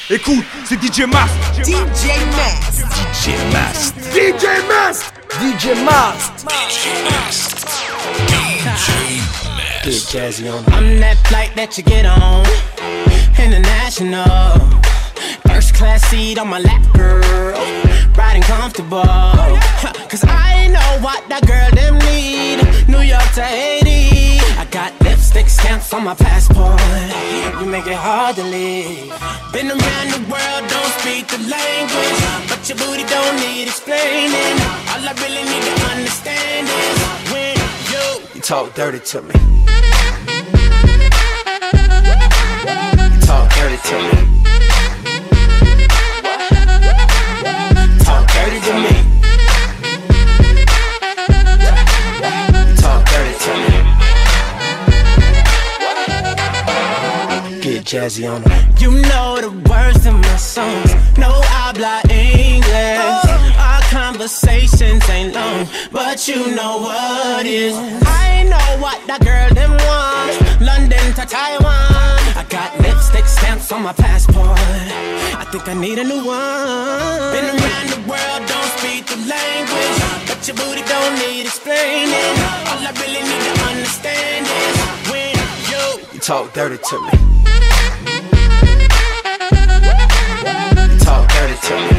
Écoute, c'est DJ Mast. DJ Mast. DJ Mast. DJ Mast. DJ Mast. Get jazzy on. I'm that flight that you get on, international. First class seat on my lap, girl. Riding comfortable. Cause I know what that girl them need. New York to Haiti. I got lipstick stamps on my passport. You make it hard to leave. Been around the world, don't speak the language, but your booty don't need explaining. All I really need to understand is when you talk dirty to me. You talk dirty to me. Talk dirty to me. You talk dirty to me. Get jazzy on them. You know the words in my songs. No habla English. Our conversations ain't long, but you know what is. I know what that girl them want. London to Taiwan. I got lipstick stamps on my passport. I think I need a new one. Been around the world, don't speak the language, but your booty don't need explaining. All I really need to understand is when you talk dirty to me. Talk dirty to me.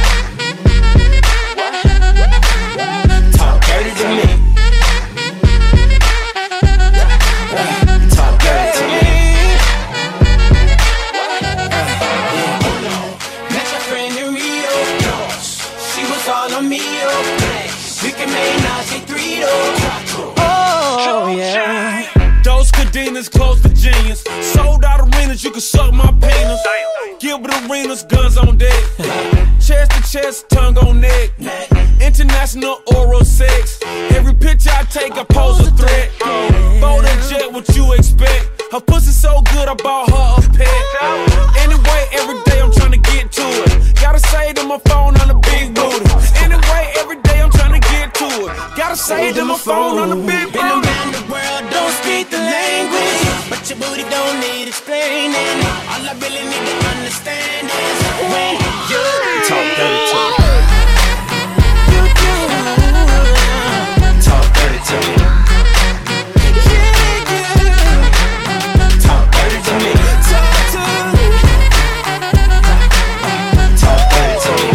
Talk dirty to me. Talk dirty to me. Met my friend in Rio. She was all on me. We can make Nazi 3 Oh yeah. Those cadenas close to genius. Sold out arenas, you can suck my penis. Gilbert Arenas, guns on deck. Chest to chest, tongue on neck. International oral sex. Every picture I take, I pose a threat. Bold and jet, what you expect? Her pussy so good, I bought her a pet. Anyway, every day I'm trying to get to it. Gotta say to my phone on the big booty. Anyway, every day I'm trying to get to it. Gotta say to my phone on the big booty. Been around the world, don't speak the language, but your booty don't need explaining. All I really need to understand is when you talk dirty to me. You do. Talk dirty to me. Talk dirty to me. Talk dirty to me.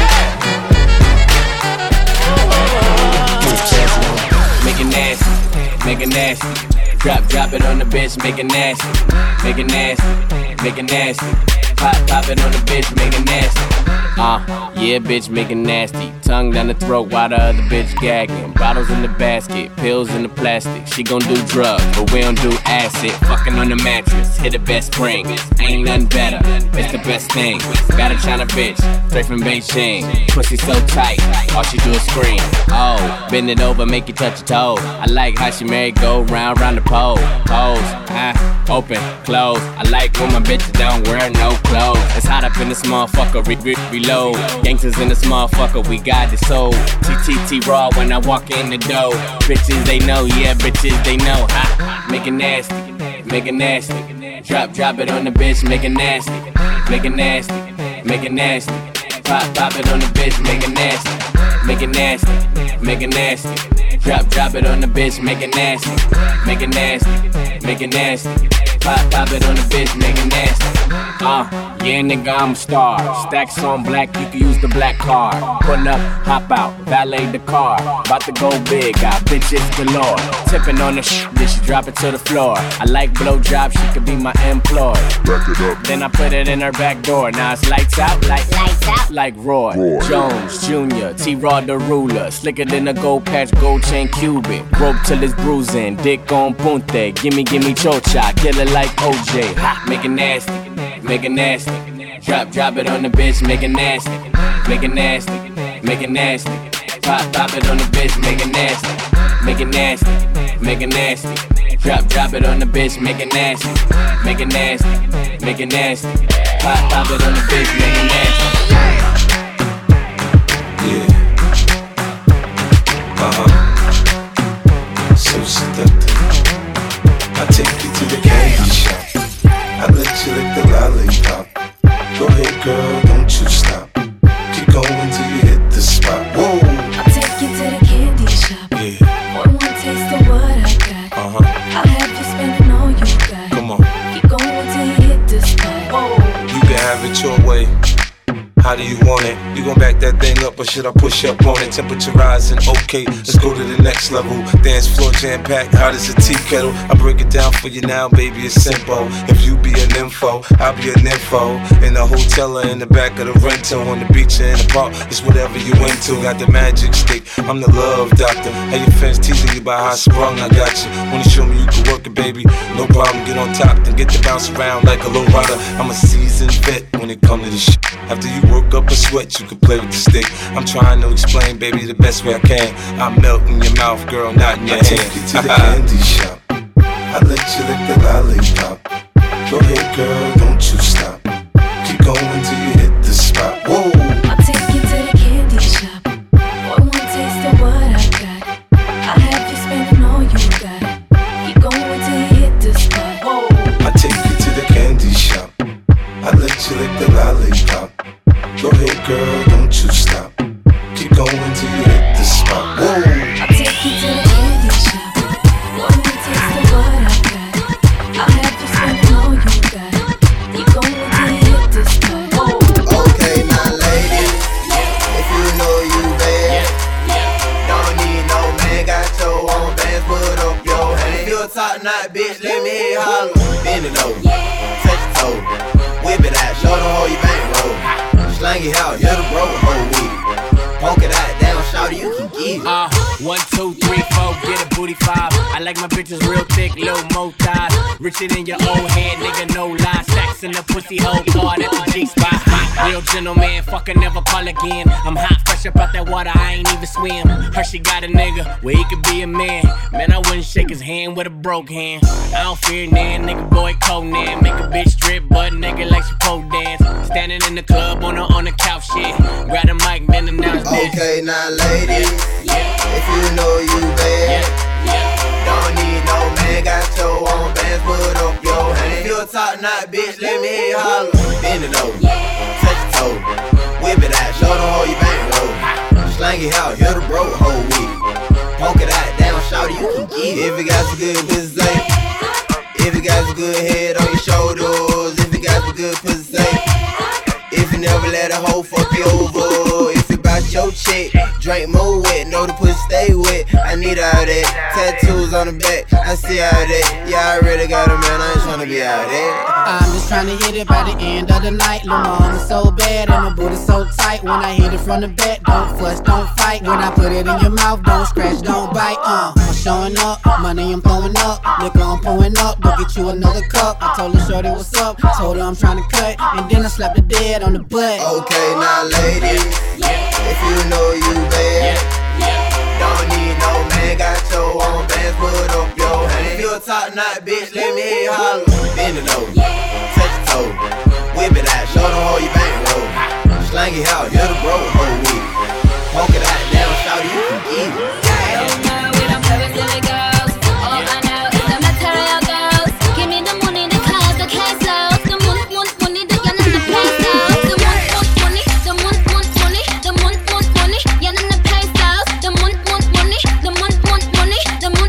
Make it nasty, make it nasty. Drop it on the bitch, make it nasty, make it nasty, make it nasty. Pop it on the bitch, make it nasty. Yeah, bitch, make it nasty. Tongue down the throat while the other bitch gagging. Bottles in the basket, pills in the plastic. She gon' do drugs, but we don't do acid. Fucking on the mattress, hit the best spring. Ain't nothing better, it's the best thing. Got a China bitch, straight from Beijing. Pussy so tight, all she do is scream. Oh, bend it over, make you touch your toes. I like how she merry go round the pole. Pose, open, close. I like when my bitches don't wear no clothes. It's hot up in this motherfucker, reload. Gangsters in this motherfucker, we got the soul. TTT raw when I walk in the door. Bitches they know, yeah, bitches they know. Make it nasty, make it nasty. Drop it on the bitch, make it nasty, make it nasty, make it nasty. Pop it on the bitch, make it nasty, make it nasty, make it nasty. Drop it on the bitch, make it nasty, make it nasty, make it nasty. Pop it on the bitch, make it nasty. Yeah, nigga, I'm a star. Stacks on black, you can use the black card. Pull up, hop out, valet the car. About to go big, got bitches galore. Tipping on the then she drop it to the floor. I like blow job, she could be my employee. Back it up. Then I put it in her back door. Now it's lights out, like Roy Jones Jr., T-Raw the ruler. Slicker than a gold patch, gold chain Cuban. Rope till it's bruising, dick on punte. Gimme chocha, kill it like OJ. Make it nasty, make it nasty. Drop it on the bitch, make it nasty, make it nasty, make it nasty. Pop it on the bitch, make it nasty, make it nasty, make it nasty. Drop it on the bitch, make it nasty, make it nasty, make it nasty. Pop it on the bitch, make it nasty. Yeah. So seductive. I take you to the candy shop. I let you lick the lollipop. Go girl, don't you stop. Keep going till you hit the spot. Whoa. I'll take you to the candy shop. Yeah. One taste of what I got. I'll have you spending all you got. Come on. Keep going till you hit the spot. Whoa. You can have it your way. How do you want it? You gon' back that thing up or should I push up on it? Temperature rising, okay, let's go to the next level. Dance floor jam packed, hot as a tea kettle. I break it down for you now, baby, it's simple. If you be an info, I'll be an info. In the hotel or in the back of the rental, on the beach or in the park, it's whatever you into. Got the magic stick, I'm the love doctor. Hey, your fans teasing you about how I sprung, I got you. Wanna show me you can work it, baby? No problem, get on top, then get to bounce around like a low rider. I'm a seasoned vet when it comes to this shit. After you work up a sweat, you can play with the stick. I'm trying to explain, baby, the best way I can. I melt in your mouth, girl, not in your hand. I take you to the candy shop. I let you lick the lollipop. Go ahead, girl, don't you stop. Keep going till you hit the spot. Whoa. I'll take you to the candy shop. One taste of what I got. I'll have you spending all you got. Keep going till you hit the spot. Whoa. I take you to the candy shop. I let you lick the lollipop. Go ahead, girl, don't you stop. Keep going till you hit the spot. Whoa. I'll take you to the candy shop. One taste of what I got. I'll have you spending all you got. Keep going till you hit the spot. Whoa. Okay, now ladies, if you know you bad, don't need no man, got your own bands, put up your hand. If you a top knot bitch, let me hear you holler. Bend it over, touch your toe, whip it out, show them how you bankroll. Slang it out, you're the broke hoe with it. Poke it out, down, shout you can get it. 1, 2, 3, 4, get a booty 5. I like my bitches real thick, little mo thighs. Richer than your old head, nigga, no lie. Stacks in the pussy hole, card at the G-spot. Real gentleman, fucker, never call again. I'm hot, fresh up out that water, I ain't even swim. Hershey got a nigga where he could be a man. Man, I wouldn't shake his hand with a broke hand. I don't fear nan, nigga, boy, Conan. Make a bitch strip, butt naked like she pole dance. Standing in the club on the couch, shit. Grab the mic, then announce this. Okay, now ladies, if you know you bad, don't need no man, got your own bands, put up your hand. If you a top knot bitch, let me hear you holler. Bend it over, touch your toe, whip it out, show them how you bankroll. Slang it out, you're the broke hoe with it. Poke it out, down, shout you can get it. If you got some good pussy, if you got some good head on your shoulders, if you got some good pussy, if you never let a hoe fuck you over, if you bout your chick, drink more wet, know the pussy stay wet. I need all that, tattoos on the back, I see all that. Yeah, I already got a man, I ain't tryna be out there. I'm just tryna hit it by the end of the night. Lil' mama so bad and my booty so tight. When I hit it from the back, don't fuss, don't fight. When I put it in your mouth, don't scratch, don't bite. I'm showing up, money I'm blowing up, liquor I'm pouring up. Go get you another cup. I told her shorty what's up, told her I'm tryna cut, and then I slapped the dead on the butt. Okay, now ladies, if you know you bad, don't need no man, got your own bands, put up your hand. If you a top knot bitch, let me hear you holler. Bend it over, touch your toe, whip it out, show them how you bankroll. Slang it out, you're the broke hoe with it. Poke it out, down, shout you can get it. We don't play with silly girls. All I know is the material girls. Give me the money, the cars, the cash flows. The money, the yen and the pesos. The money, the money, the money, yen and the pesos. The money, the money,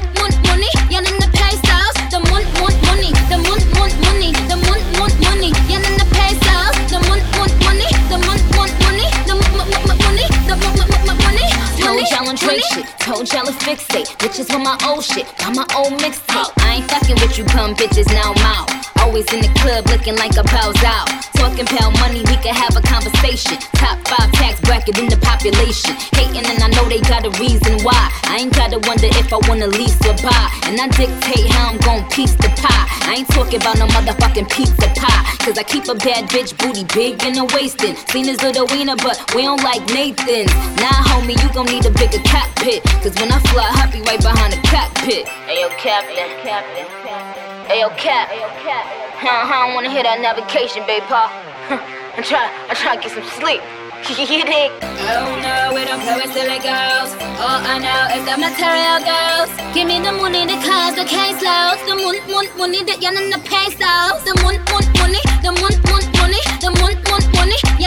yen and the pesos. The money, the money, yen and the pesos. The money, Told y'all on Drake shit, told y'all to fix it. Bitches with my old shit, got my old mixtape. I ain't fucking with you bum bitches, now I'm out. Always in the club looking like a bows out. Talking pound money, we could have a conversation. Top 5 tax bracket in the population. Hating and I know they got a reason why. I ain't gotta wonder if I wanna lease or buy. And I dictate how I'm gon' piece the pie. I ain't talking about no motherfucking pizza pie. Cause I keep a bad bitch booty big in the waistin'. Seen his little wiener but we don't like Nathan's. Nah homie, you gon' need a bigger cockpit. Cause when I fly, I be right behind the cockpit. Ayo Captain. Ayo Cap. I don't wanna hear that navigation, babe, pa. I'm trying to get some sleep. You dig? Oh no, we don't play with silly girls. All I know is the material girls. Give me the money, the cars, the case loads. The money, the yen and the pesos. The money, the money,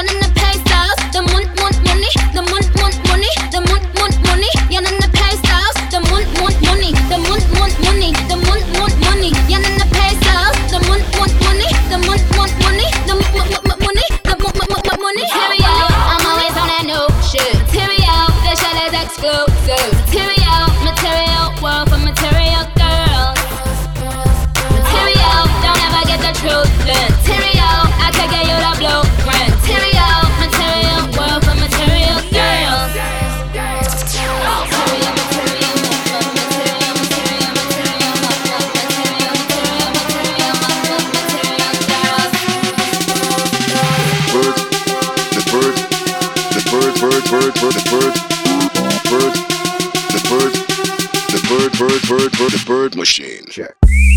The bird machine. Check.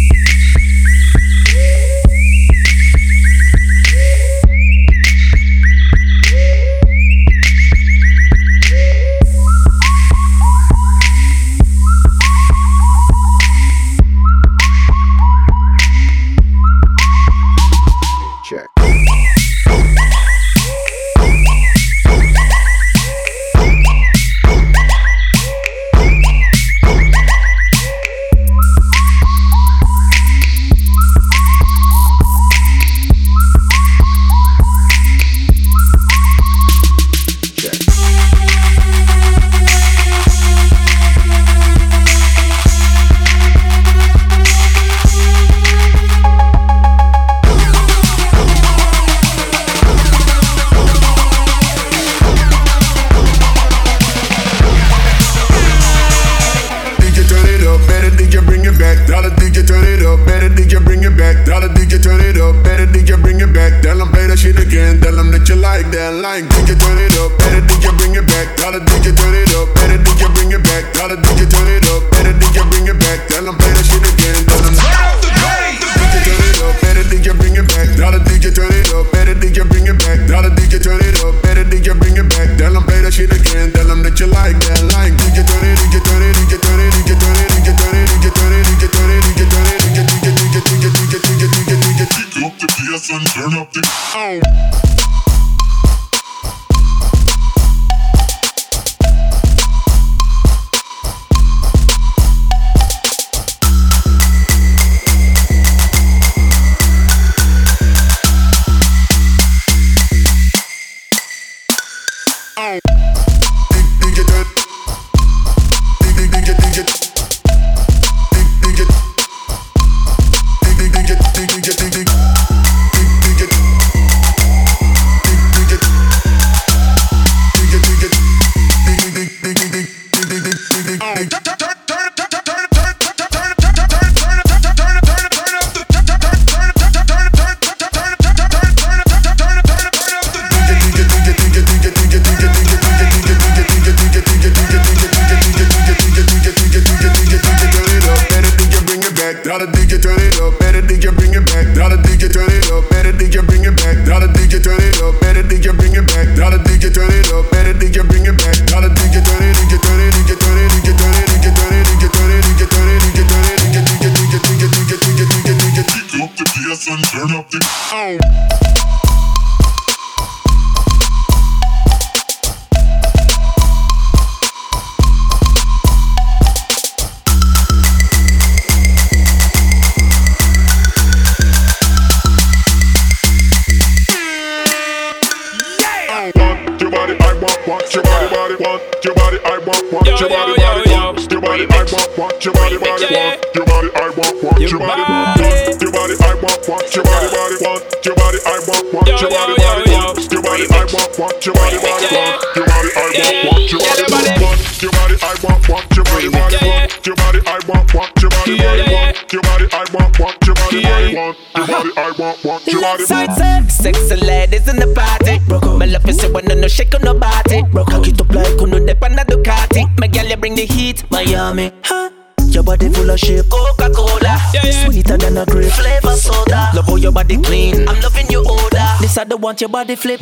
Sexy ladies in the party. My love is when no shake on nobody. Cock it up like uno dep on a Ducati. My girl, you bring the heat, Miami. Huh? Your body full of shape, Coca-Cola, sweeter than a grape, flavor soda. Love how your body clean, I'm loving your odor. This I don't want your body flip,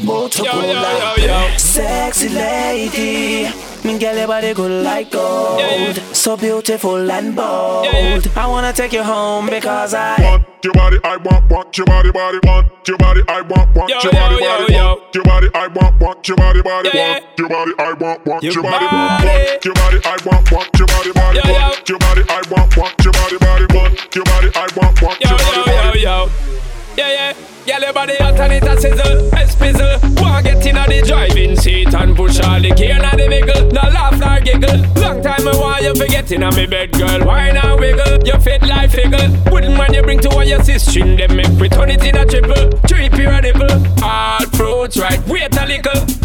Motorola. Sexy lady, me girl, your body good like gold. So beautiful and bold. I wanna take you home because I want your body, I want your body, want your body, I want your body, want your body, I want your body, want your body, I want your body, want your body, I want your body, want your body, I want your body, want your body, I want your body. Yeah. Girl, your body hot and it a sizzle, espizzle. Wanna get in the driving seat and push all the gear in the vehicle. No laugh nor giggle. Long time I want you forget in me bed, girl. Why not wiggle? You fit like figgle. Wouldn't mind you bring to all your sister. Them make we turn it in a triple. Trip your nipple. All fruits right, wait a little. Why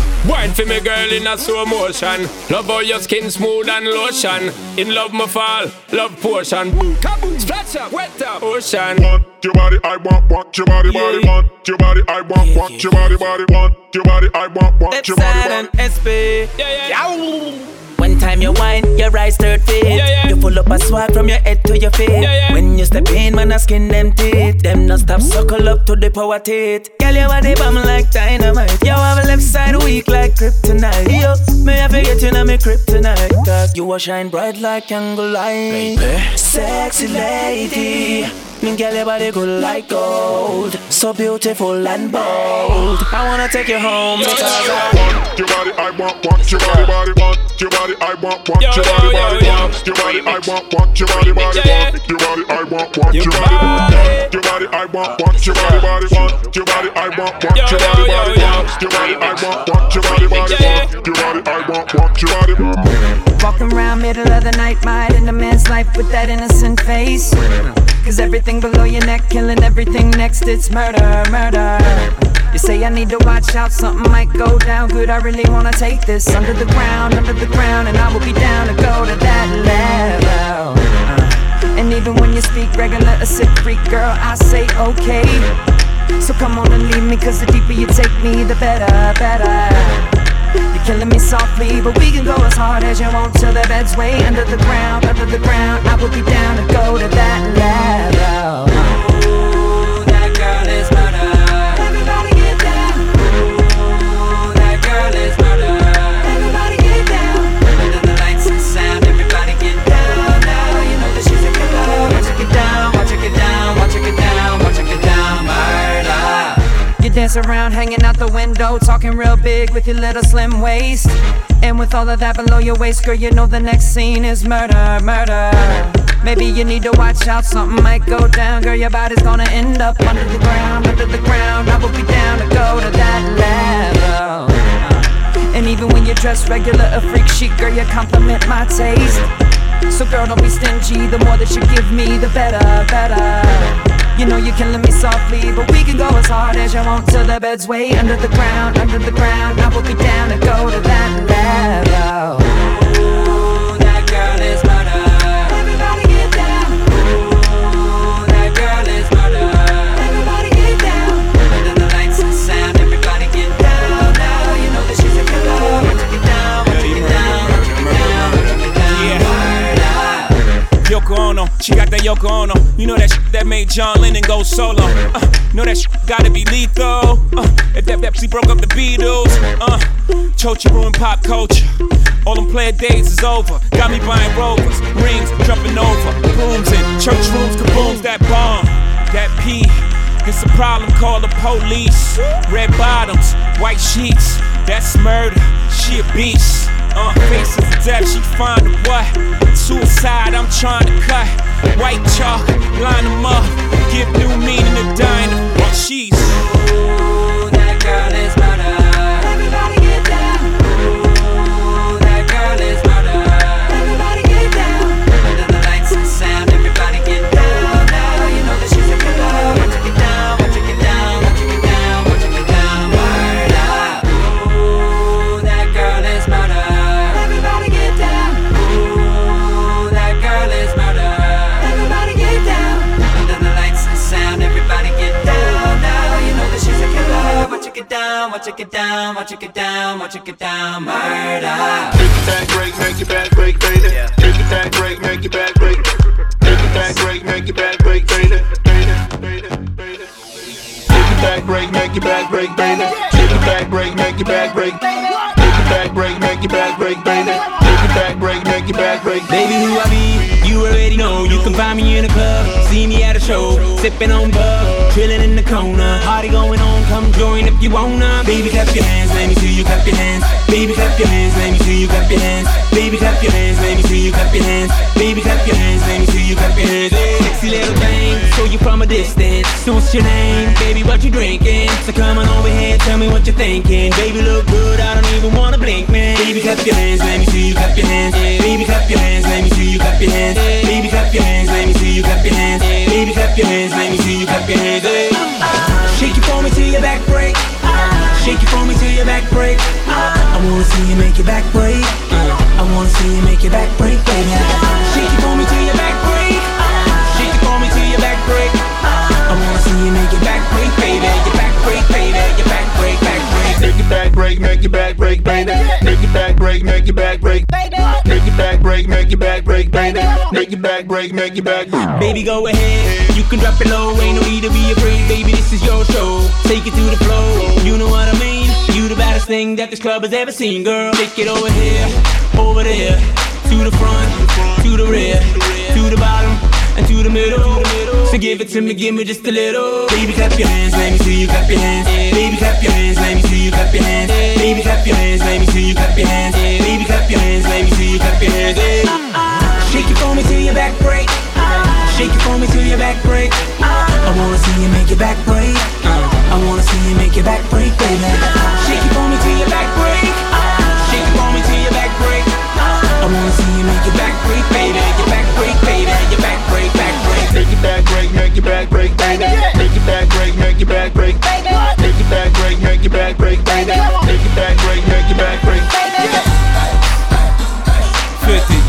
Wine for me girl in a slow motion. Love how your skin smooth and lotion. In love me fall, love portion. Kaboom, splash up, wet up, ocean. Want your body, I want your body, body. Want your body, I want your body, body. Want your body, I want your body, body. SP. Yeah. One time you whine, your eyes third feet. You full up a swag from your head to your feet. When you step in, man, I skin them teeth. Them not stop suckle up to the power teeth. Girl, you body bomb like dynamite. You have a left side weak like kryptonite. Yo, may I forget you now, me kryptonite. Cause you will shine bright like candle light. Sexy lady. Me girl, your body good like gold. So beautiful and bold. I wanna take you home because I want your body, I want your body, body. Want your body, I want your body, body. Want your body, I want your body, body. Want your body, I want your body, body. Your body, I want your body, body. Want your body, I want your body, body. Want your body, I want your body, body. Want your body, I want your body, body. Walking around middle of the night, mind in a man's life with that innocent face. Cause everything below your neck, killing everything next, it's murder, murder. You say I need to watch out, something might go down good. I really wanna take this under the ground, and I will be down to go to that level. And even when you speak regular, a sick freak, girl, I say okay. So come on and leave me, cause the deeper you take me, the better, better. You're killing me softly, but we can go as hard as you want till the bed's way under the ground, I will be down to go to that level. Ooh, that girl is murder. Everybody get down. Ooh, that girl is murder. Everybody get down. Under the lights and sound, everybody get down. Now you know that she's a killer. Watch her get down, watch her get down, watch her get down, watch her get down, murder. You dance around, hanging out the window, talking real big with your little slim waist. And with all of that below your waist, girl, you know the next scene is murder, murder. Maybe you need to watch out, something might go down. Girl, your body's gonna end up under the ground, I will be down to go to that level. And even when you dress regular, a freak chic, girl, you compliment my taste. So girl, don't be stingy, the more that you give me, the better, better. You know you're killing me softly, but we can go as hard as you want till the bed's way under the ground, I will be down to go to that level. Ooh, that girl is murder. Everybody get down. Ooh, that girl is murder. Everybody get down. Under the lights and sound, everybody get down. Now you know that she's a killer. Watch her get down, watch her get down, watch her get down, watch her get down, murder. Yoko Ono, she got that Yoko Ono. You know that shit that made John Lennon go solo. Know that shit gotta be lethal. If that Pepsi broke up the Beatles. Chochi ruined pop culture. All them player days is over. Got me buying Rovers, rings, jumping over. Booms in church rooms, kabooms, that bomb, that P. It's a problem, call the police. Red bottoms, white sheets, that's murder. She a beast. Faces of death, she find a what? Suicide, I'm trying to cut. White chalk, line them up. Give new meaning to dying. Well, she's. Ooh, that girl is murder. Everybody get down. Ooh, that girl is murder. Everybody get down. Under the lights and sound, everybody get down. Now you know that she's a killer. Watch her get down, watch her get down, watch her get down, watch her get down, murder. Ooh, that girl is murder. Everybody get down. Ooh, that girl is murder. Everybody get down. Under the lights and sound, everybody get down. Now you know that she's a killer. Watch her get down, watch her get down, watch her get down, watch her get down, murder. Take it back, break, make it back, break, baby. Take it back, break, make it back, break. Take it back, break, make it back, break, baby. Take it back, break, make it back, break, baby. Take it back, break, make it back, break. Take it back, break, make it back, break, baby. Take it back, break, make it back, break. Baby, who I be, you already know. You can find me in a club, see me at a show, sipping on bug, chilling in the corner. Party going on, come join if you wanna. Baby, clap your hands, let me see you clap your hands. Baby, clap your hands, let me see you clap your hands. Baby, clap your hands, let me see you clap your hands. Baby, clap your hands, let me see you clap your hands. Hey, sexy little thing, show you from a distance. So what's your name? Baby, what you drinking? So come on over here, tell me what you're thinking. Baby, look good, I don't even wanna blink, man. Baby, clap your hands, let me see you clap your hands. Baby, clap your hands, let me see you clap your hands. Baby, clap your hands, let me see you clap your hands. Baby, clap your hands, let me see you clap your hands. Hey. Shake it for me till your back break. Shake it for me till your back break. I wanna see you make your back break. I wanna see you make your back break, baby. Shake it for me till your back break. Shake it for me till your back break. I wanna see you make your back break, baby. Your back break, baby. Your back break, back break. Make your back break, make your back break, baby. Make your back break, make your back break. Make your back break, make your back break, baby. Make your back break, make your back break. Baby, go ahead. You can drop it low. Ain't no need to be afraid, baby. This is your show. Take it to the flow. You know what I mean? You the baddest thing that this club has ever seen, girl. Take it over here, over there, to the front, to the rear, to the bottom, and to the middle. So give it to me, give me just a little. Baby, clap your hands, let me see you clap your hands. Baby, clap your hands, let me see you clap your hands. Baby, clap your hands, let me see you clap your hands. Baby, clap your hands, let me see you clap your hands. Shake it for me till your back break. Shake it for me till your back break. I wanna see you make your back break. I wanna see you make your back break, baby. Shake it for me till your back break. Shake it for me till your back break. I wanna see you make your back break, baby. Your back break, baby. Your back break, back break. Make your back break, make your back break, baby. Make your back break, make your back break. Make your back break, make your back break, baby. Make your back break, make your back break. 50.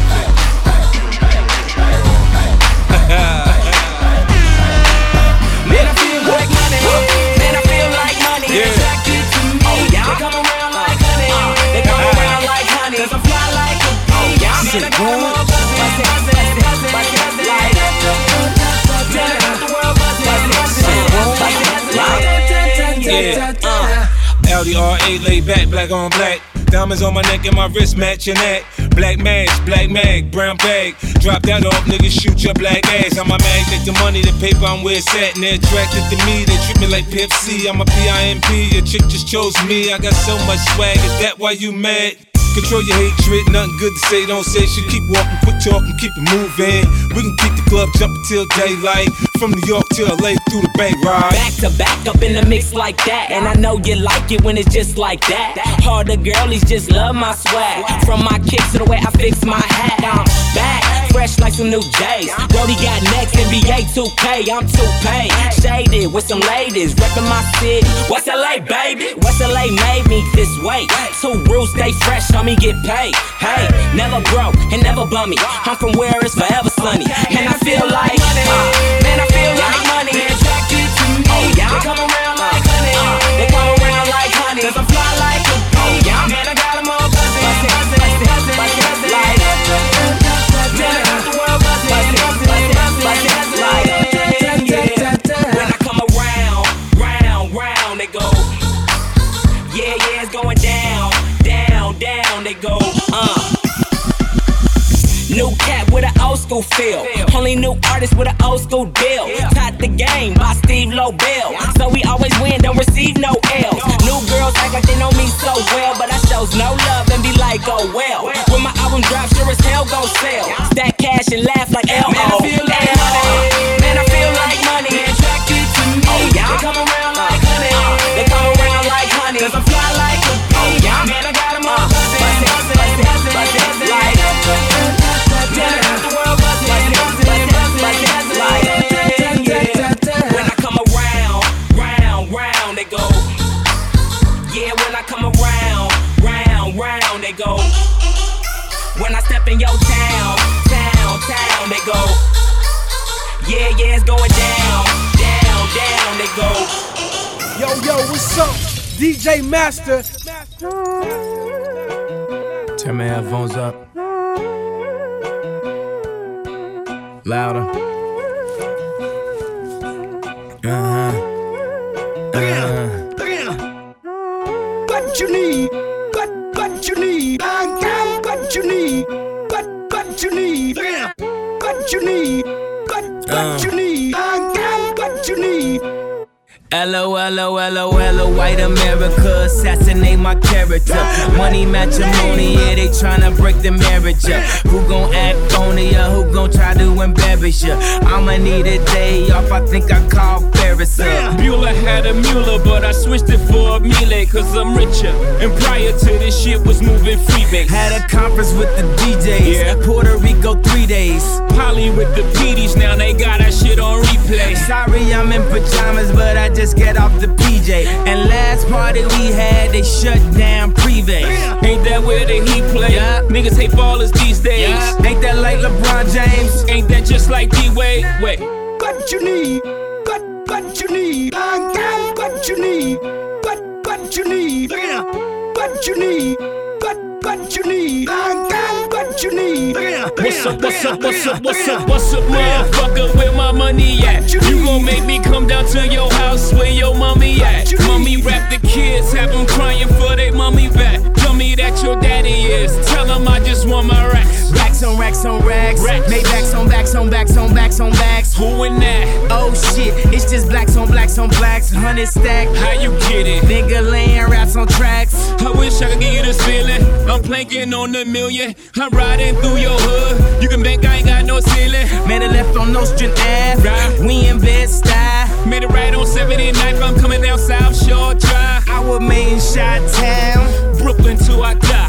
Man, I feel like money. Man, I feel like money. They attracted to me. They come around like honey. They come around like honey. 'Cause I fly like a bee. Man, I got them all buzzing. Audi R8 laid back, black on black. Diamonds on my neck and my wrist matching that. Black mask, black mag, brown bag. Drop that off, niggas shoot your black ass. I'm a magnet, the money, the paper, I'm where it's at. And they're attracted to me, they treat me like Pepsi. I'm a PIMP, your chick just chose me. I got so much swag, is that why you mad? Control your hatred, nothing good to say, don't say shit. Keep walking, quit talking, keep it moving. We can keep the club jumping till daylight. From New York to LA through the Bay ride. Back to back up in the mix like that. And I know you like it when it's just like that. Harder girlies just love my swag. From my kicks to the way I fix my hat. I'm back, fresh like some new J's. Brody got next, NBA 2K, I'm 2K. Shaded with some ladies, reppin' my city. West LA, baby? West LA made me this way. 2 rules, stay fresh, on me get paid. Hey, never broke and never bummy. I'm from where it's forever sunny. And I feel like money. Man, I feel like money. They attracted to me. They come around like honey. They come around like honey. 'Cause I fly like a bee. Man, I got them all buzzing. Like, man, I got the world buzzing. When I come around, round, they go. Yeah, it's going down, they go. New cat with an old school feel. Only new artist with an old school deal. Taught the game by Steve Lobel. So we always win, don't receive no L's. New girls act like they know me so well, but I shows no love and be like, oh well. When my album drops, sure as hell gon' sell. Stack cash and laugh like L.O. Man, I feel like money. Man, I feel like money. They attracted to me. They come around like honey. They come around like honey. 'Cause I fly like a bee. Man, I got them all buzzing. When I come around, they go. Yeah, when I come around, they go. When I step in your town, they go. Yeah, it's going down, they go. Yo, what's up? DJ Master. Turn my headphones up. Louder. What you need? What you need? I got what you need. What you need? What you need? What you need? I got what you need. LOL, white America, assassinate my character. Money matrimony, yeah, they tryna break the marriage up. Who gon' act on it, yeah, who gon' try to embarrass ya? I'ma need a day off, I think I call Ferris up. Bueller had a Mueller, but I switched it for a Miele, 'cause I'm richer. And prior to this shit was moving freebase. Had a conference with the DJs, yeah. Puerto Rico 3 days. Polly with the PDs, now they got that shit on replay. Sorry, I'm in pajamas, but I just get off the PJ. And last last party we had, they shut down Privé. Ain't that where the Heat play? Yeah. Niggas hate ballers these days. Yeah. Ain't that like LeBron James? Ain't that just like D-Wade? Wait. What you need? What you need? I got what you need. What you need? What you need? What you need? I got what you need. What's up, motherfucker? Where my money at? You gon' make me come down to your house where your mommy at? Mommy rap the kids, have them crying for they mommy back. Tell me that your daddy is. Tell them I just want my racks. Racks on racks on racks. Maybachs on backs on backs on backs on backs. Who in that? Oh shit, it's just blacks on blacks on blacks. 100 stack. How you get it? Nigga laying raps on tracks. I wish I could give you this feeling. I'm planking on the million. I'm riding through your hood. You can bank I ain't got no ceiling. Made it left on Nostrand Ave. Right. We in Bed-Stuy. Made it right on 79th. I'm coming down South Shore Drive. I was made in Chi-Town. Brooklyn till I die.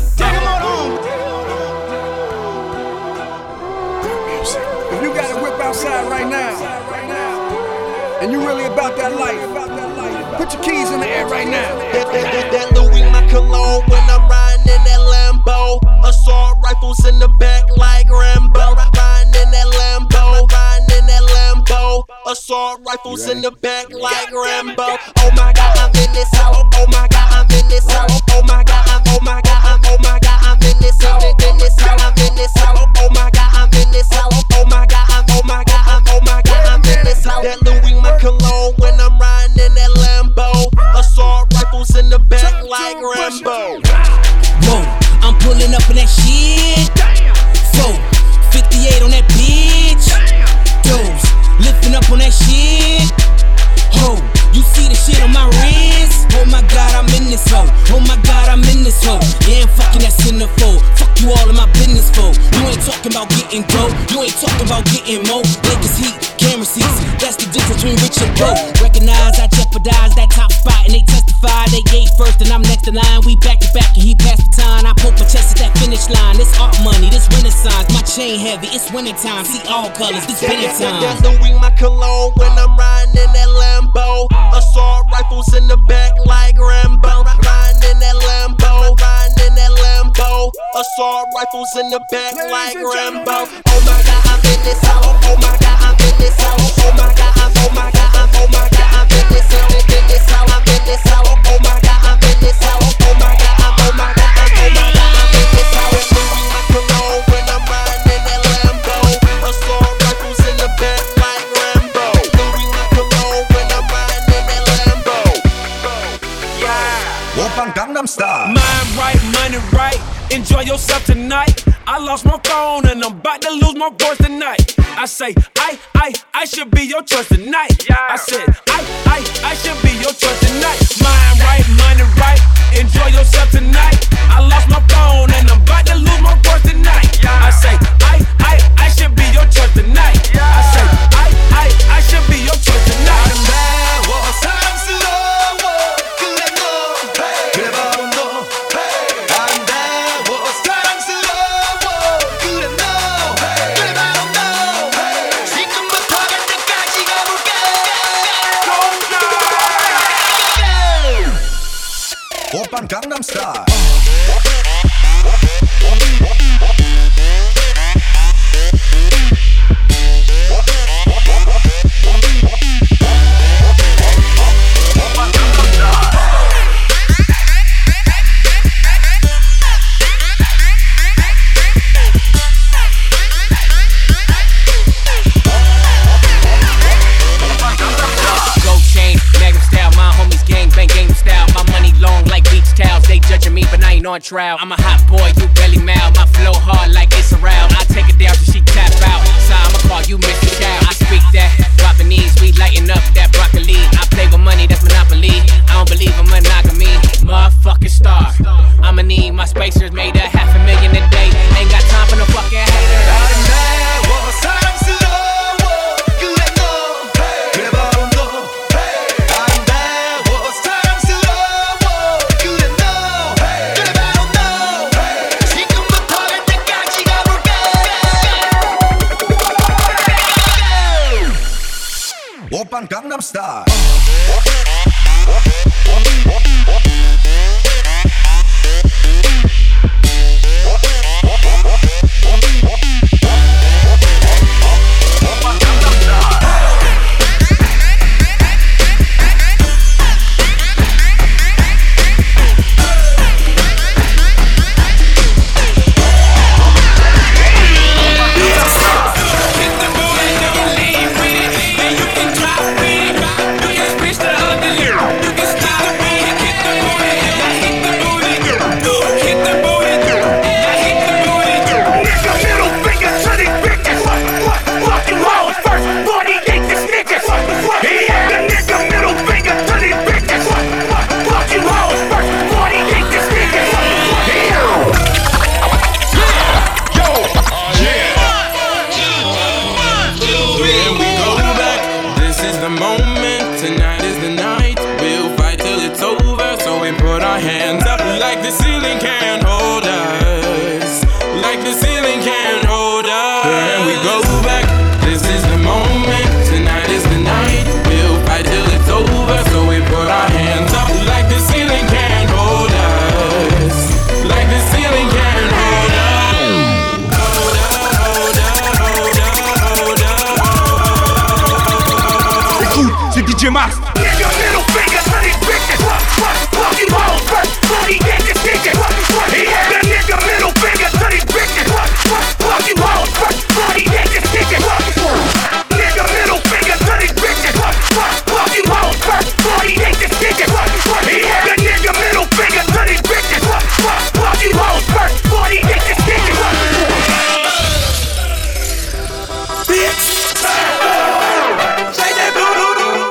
If you got a whip outside right now, and you really about that life, put your keys in the air right now. That Louis my cologne when I'm riding in that Lambo. Assault rifles in the back like Rambo. Riding in that Lambo, riding in that Lambo. Assault rifles in the back like Rambo. Oh my God, I'm in this house. Oh my God, I'm in this house. Oh my God, oh my God, oh my God, I'm in this house. In this house, I'm in this house. Oh my God, I'm in this house. Oh my God, oh my God, oh my God, I'm in this house. That Louis my cologne when I'm riding in that Lambo. Assault rifles in the back like Rambo. Whoa, I'm pulling up in that shit. 458 on that bitch. Doze, lifting up on that shit. Ho, you see the shit on my wrist? Oh my God, I'm in this hoe. Oh my God, I'm in this hoe. Yeah, I'm fucking that centerfold. Fuck you all in my business for. You ain't talking about getting dope. You ain't talking about getting more. Lakers heat, camera seats. That's the difference between rich and broke. Recognize I jeopardize that top spot and they testify. They gave first and I'm next in line. We back to back and he passed the time. I poke my chest at that finish line. This art money, this renaissance. My chain heavy, it's winter time. See all colors, this winter time. That's Louis my cologne when I'm riding in that Lambo. Assault rifles in the back like Rambo. Riding in that Lambo, riding in that Lambo. Assault rifles in the back like Rambo. Oh my God, I'm in this house. Oh my God, I'm in this house. Oh my God, oh my God, oh my God, I'm in this house. In this house, I'm in this house. Oh my God, I'm in this house. Oh my God, oh my God, oh my God, I'm in this house. Louis my cologne when I'm riding in that Lambo. Assault rifles in the back like Rambo. Louis my cologne when I'm riding in that Lambo. Yeah. Open Gangnam Style. Mind right, money right. Enjoy yourself tonight. I lost my phone and I'm about to lose my voice tonight. I say, I should be your choice tonight. I said, I should be your choice tonight. Mind right, money right. Enjoy yourself tonight. I lost my phone and I'm about to lose my voice tonight. I say, I should be your choice tonight. I say, I should be your choice tonight. Open Gangnam Style. On trial, I'm a hot boy, you belly mouth. My flow hard like it's around. I take it down till she tap out. So I'ma call you Mr. Child. I speak that, drop the knees, we lighten up that broccoli. I play with money, that's monopoly. I don't believe in monogamy. Motherfucking star. I'ma need my spacers made a $500,000 a day. Ain't got time for no fucking haters. Gangnam Style. hands up like the ceiling can't hold us. Like the ceiling can't hold us. And we go back, this is the moment. Tonight is the night, we'll fight till it's over. So we put our hands up like the ceiling can't hold us. Like the ceiling can't hold us. Hold up, hold up, hold up, hold up. Écoute, c'est DJ Max. Nigga, middle finger to these bitches. Fuck you hoes first, before he get this ticket. Yeah, that nigga middle finger to these bitches. Fuck you hoes first, before he get this ticket. Nigga middle finger to these bitches. Fuck you hoes first, before he get this ticket. Yeah, that nigga middle finger to these bitches. Fuck you hoes first, before he get this ticket. Bitch. Say that boo-doo-doo.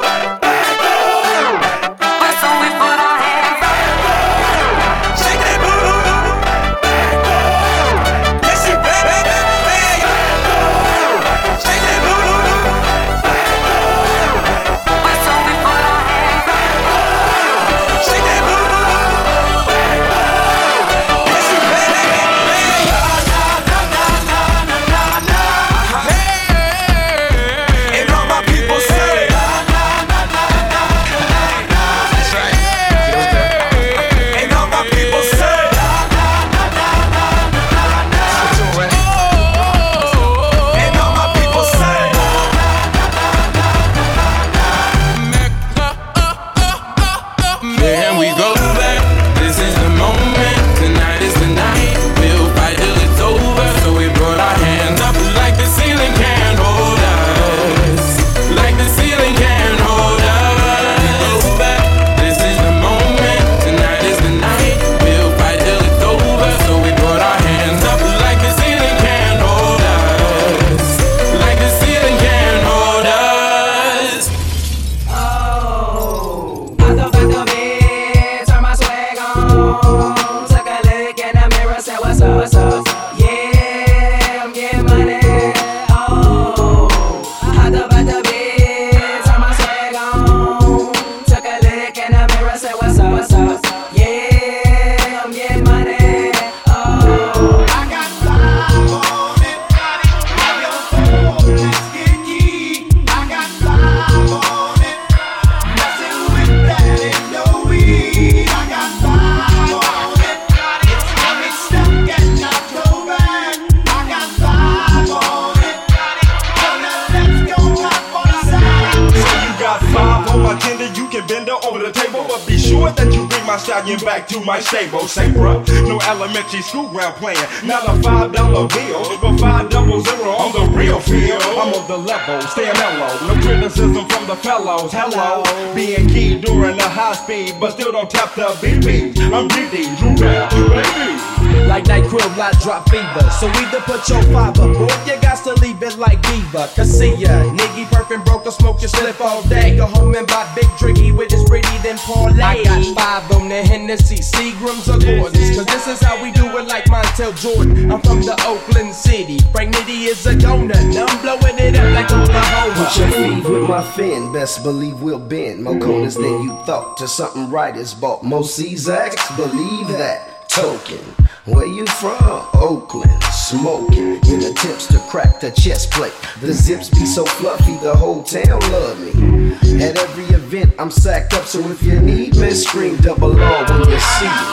Back to my stable, say bruh, no elementary school ground playing, not a $5 bill, but 500 on the real field. I'm on the level, staying mellow, no criticism from the fellows. Hello, being key during the high speed, but still don't tap the BB. I'm DD, Drew Bell, baby. Like night crib, lot drop fever. So either put your fiber, boy, you got to leave it like Diva. Cause see ya, nigga perfing broke or smoke your slip all day. Go home and buy big drinky with his pretty then parlay. I got 5 on the Hennessy, Seagrams or Gordons. Cause this is how we do it like Montel Jordan. I'm from the Oakland City, Frank Nitty is a donut. I'm blowing it up like Oklahoma. Put your feet with my fin, best believe we'll bend. More corners than you thought, to something right is bought. Most Czaks, believe that. Token, where you from? Oakland, smoking in attempts to crack the chest plate. The zips be so fluffy, the whole town love me. At every event, I'm sacked up, so if you need me, scream double R when you see me.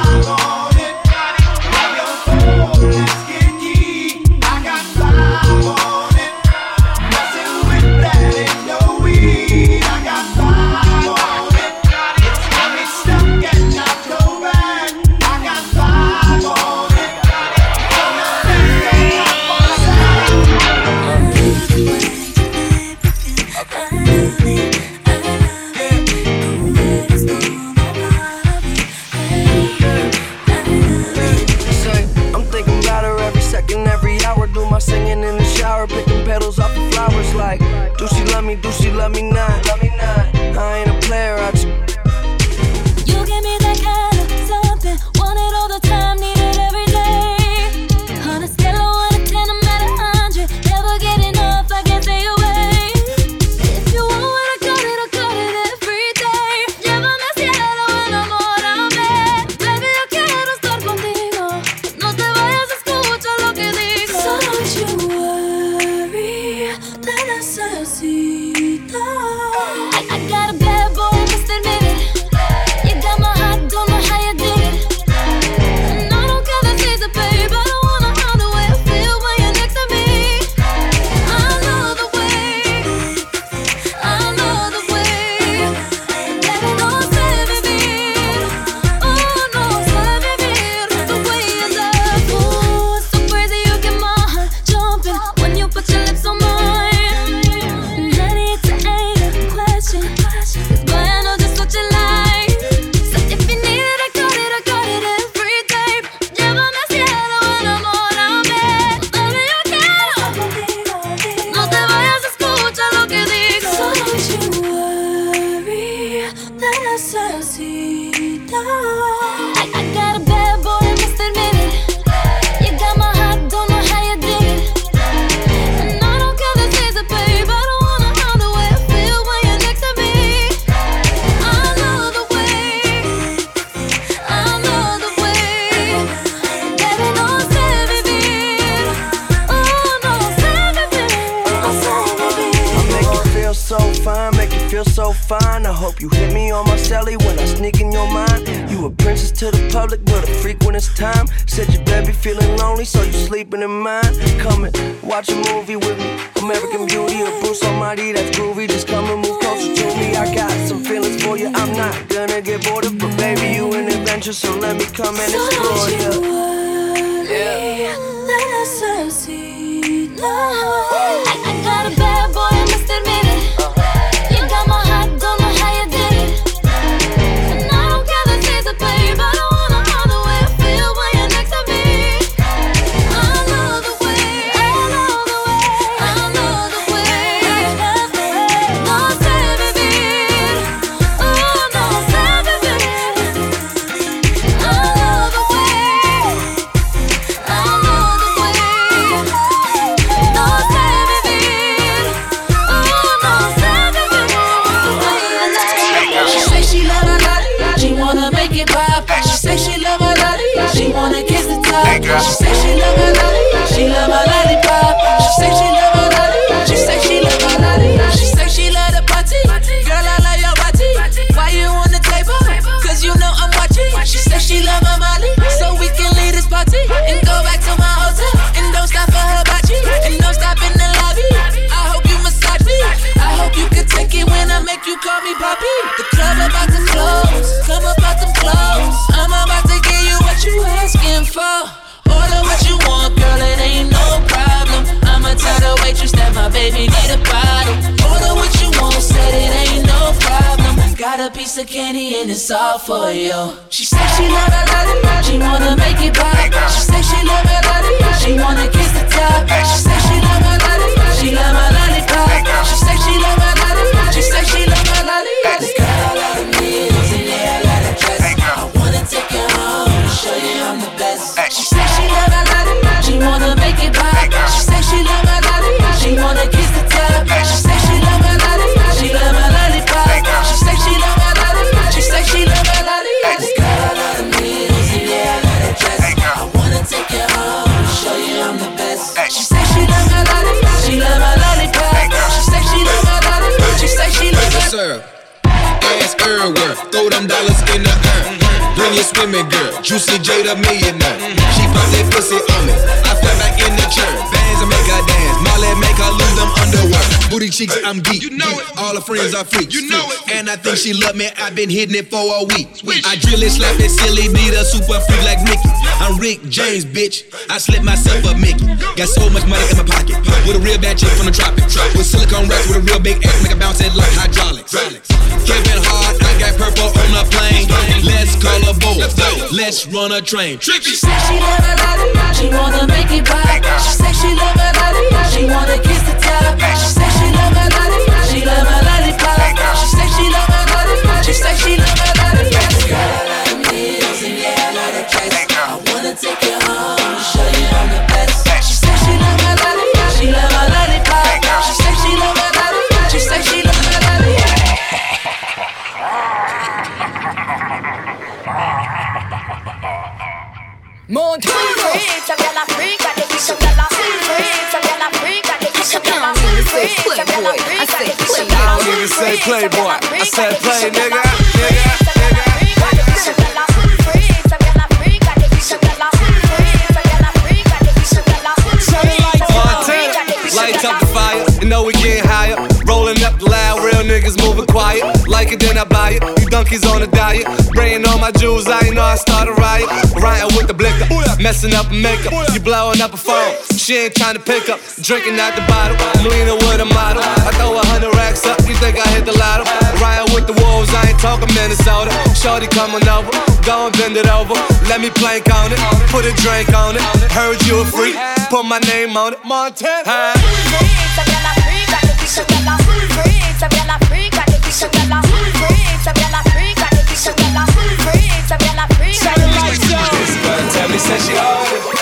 Singing in the shower, picking petals off the flowers like, do she love me, do she love me not? I ain't a player, I just... You give me that kind of something, want it all the time, need it every day. On a scale of 1 to 10, I'm at 100, never get enough, I can't stay away. If you want what I got it every day. Llévame al cielo, el amor a ver. necesita. I got a bad boy, I must admit it. You got my heart, don't know how you did it. And I don't care the season, babe. I don't wanna harm the way I feel when you're next to me. I love the way, I love the way. Baby, don't say me beat. Oh no, say me beat. Oh, say me beat. I make you feel so fine, make you feel so fine. I hope you hit me on my celly when I sneak in your mind. You a princess to the public, but a freak when it's time. Said your baby feeling lonely, so you sleeping in mine. Come and watch a movie with me. American Beauty or Bruce Almighty, that's groovy. Just come and move closer to me. I got some feelings for you. I'm not gonna get bored of, but baby, you an adventure, so let me come and explore you. Yeah. I got a bad boy, I must admit it. You got my heart, don't know how you did it. And I don't care the season, babe. I don't wanna harm the way I feel when you're next to me. I love the way, I love the way, I love the way. Don't say me beat. Oh, don't say me beat. I love the way, I love the way. Don't say me beat. Oh, don't say me beat. She say she love her lolly, she wanna make it pop. She say she love her lolly, she wanna kiss the top. She say she love her lolly, she love her lollipop. She say she love her lolly, she say she love her lolly. She say she love the party, girl I love your body. Why you on the table? Cause you know I'm watching. She say she love her Molly, so we can leave this party and go back to my hotel. And don't stop for her body, and don't stop in the lobby. I hope you massage me, I hope you can take it when I make you call me Poppy. The club about to close, come about them clothes. I'm about to give you what you asking for. Order what you want, girl, it ain't no problem. I'ma tell the waitress that my baby need a bottle. Order what you want, said it ain't no problem. Got a piece of candy and it's all for you. She say she love her lolly, she wanna make it pop. She say she love her lolly, she wanna kiss the top. She say she love her lolly, she love her lollipop. She say she love her lolly, she say she love her lolly. This girl a lot of needles and yeah, a lot of dress. I wanna take you home and show you I'm the best. She say she love her lolly, she wanna make it pop. She say she love her lolly, she wanna kiss the top. She say she love her lolly, she love her lollipop. She say she love her lolly, she say she love her lolly. This girl a lot of needles and yeah, a lot of dress. I wanna take you home and show you I'm the best. She say she love her lolly, she love her lollipop. She say she love her lolly, she say she love her. Sir, ass everywhere, throw them dollars in the air. Bring your swimming girl, Juicy J the millionaire. She pop that pussy on me, I fell back in the chair. Bands and make her dance, Molly make her lose them underwear. Booty cheeks, I'm geek, you know it. All her friends are freaks, you know it. And I think she love me, I've been hitting it for a week. I drill it, slap it, silly, need a super freak like Mickey. I'm Rick James, bitch, I slipped myself a Mickey. Got so much money in my pocket, with a real bad chick from the tropics. With silicone racks, with a real big ass, make it bounce it like hydraulics. Kevin Hart, I got purple on the plane. Let's call a boat, let's run a train. She say she love her lolly, she wanna make it pop. She say she love her lolly, she wanna kiss the top. She say she love her lolly, she love her lollipop. She say she love her lolly, she say she love her lolly. This girl a lot of needles and yeah, a lot of dress. I wanna take you home and show you I'm the best. She say she love her lolly, she love her lollipop. She say she love her lolly, she say she love her lolly. Monte freak, some gyal a freak, I think some gyal a freak, some gyal a freak, I think some gyal a freak, some gyal a freak, I think some gyal a freak. I don't even say playboy, I said play, nigga. Lights up the fire, you know we getting higher. Rolling up the loud, real niggas moving quiet. Like it, then I buy it. You donkeys on a diet. Spraying on my jewels, I ain't know I started riot. Riding with the blicker, messing up makeup. You blowing up a phone, she ain't trying to pick up. Drinking out the bottle, I'm leaning with a model. I throw 100 racks up, you think I hit the lotto. Riding with the wolves, I ain't talking Minnesota. Shorty coming over, go and bend it over. Let me plank on it, put a drink on it. Heard you a freak, put my name on it. Montana. Some gyal a freak, I think some gyal a freak, some gyal a freak, some gyal a freak, I think some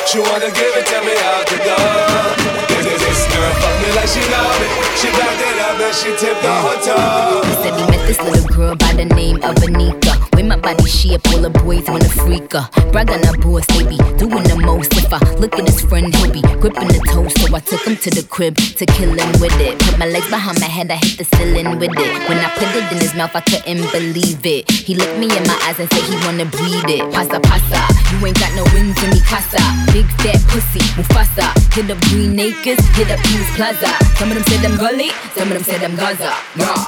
She wanna give it, tell me out the door. This girl fuck me like she know me. She backed it up and she tipped on her toe. He said he met this little girl by the name of Anika. With my body shape, all the boys wanna freak her. Brag on her boss, they be doing the most. If I look at his friend, he'll be gripping the toast. So I took him to the crib to kill him with it. Put my legs behind my head, I hit the ceiling with it. When I put it in his mouth, I couldn't believe it. He looked me in my eyes and said he wanna breathe it. Pasa, pasa, you ain't got no wings in me casa. Big fat pussy, Mufasa. Hit up Green Acres, hit up Peace Plaza. Some of them said I'm gully, some of them said I'm Gaza. Raw.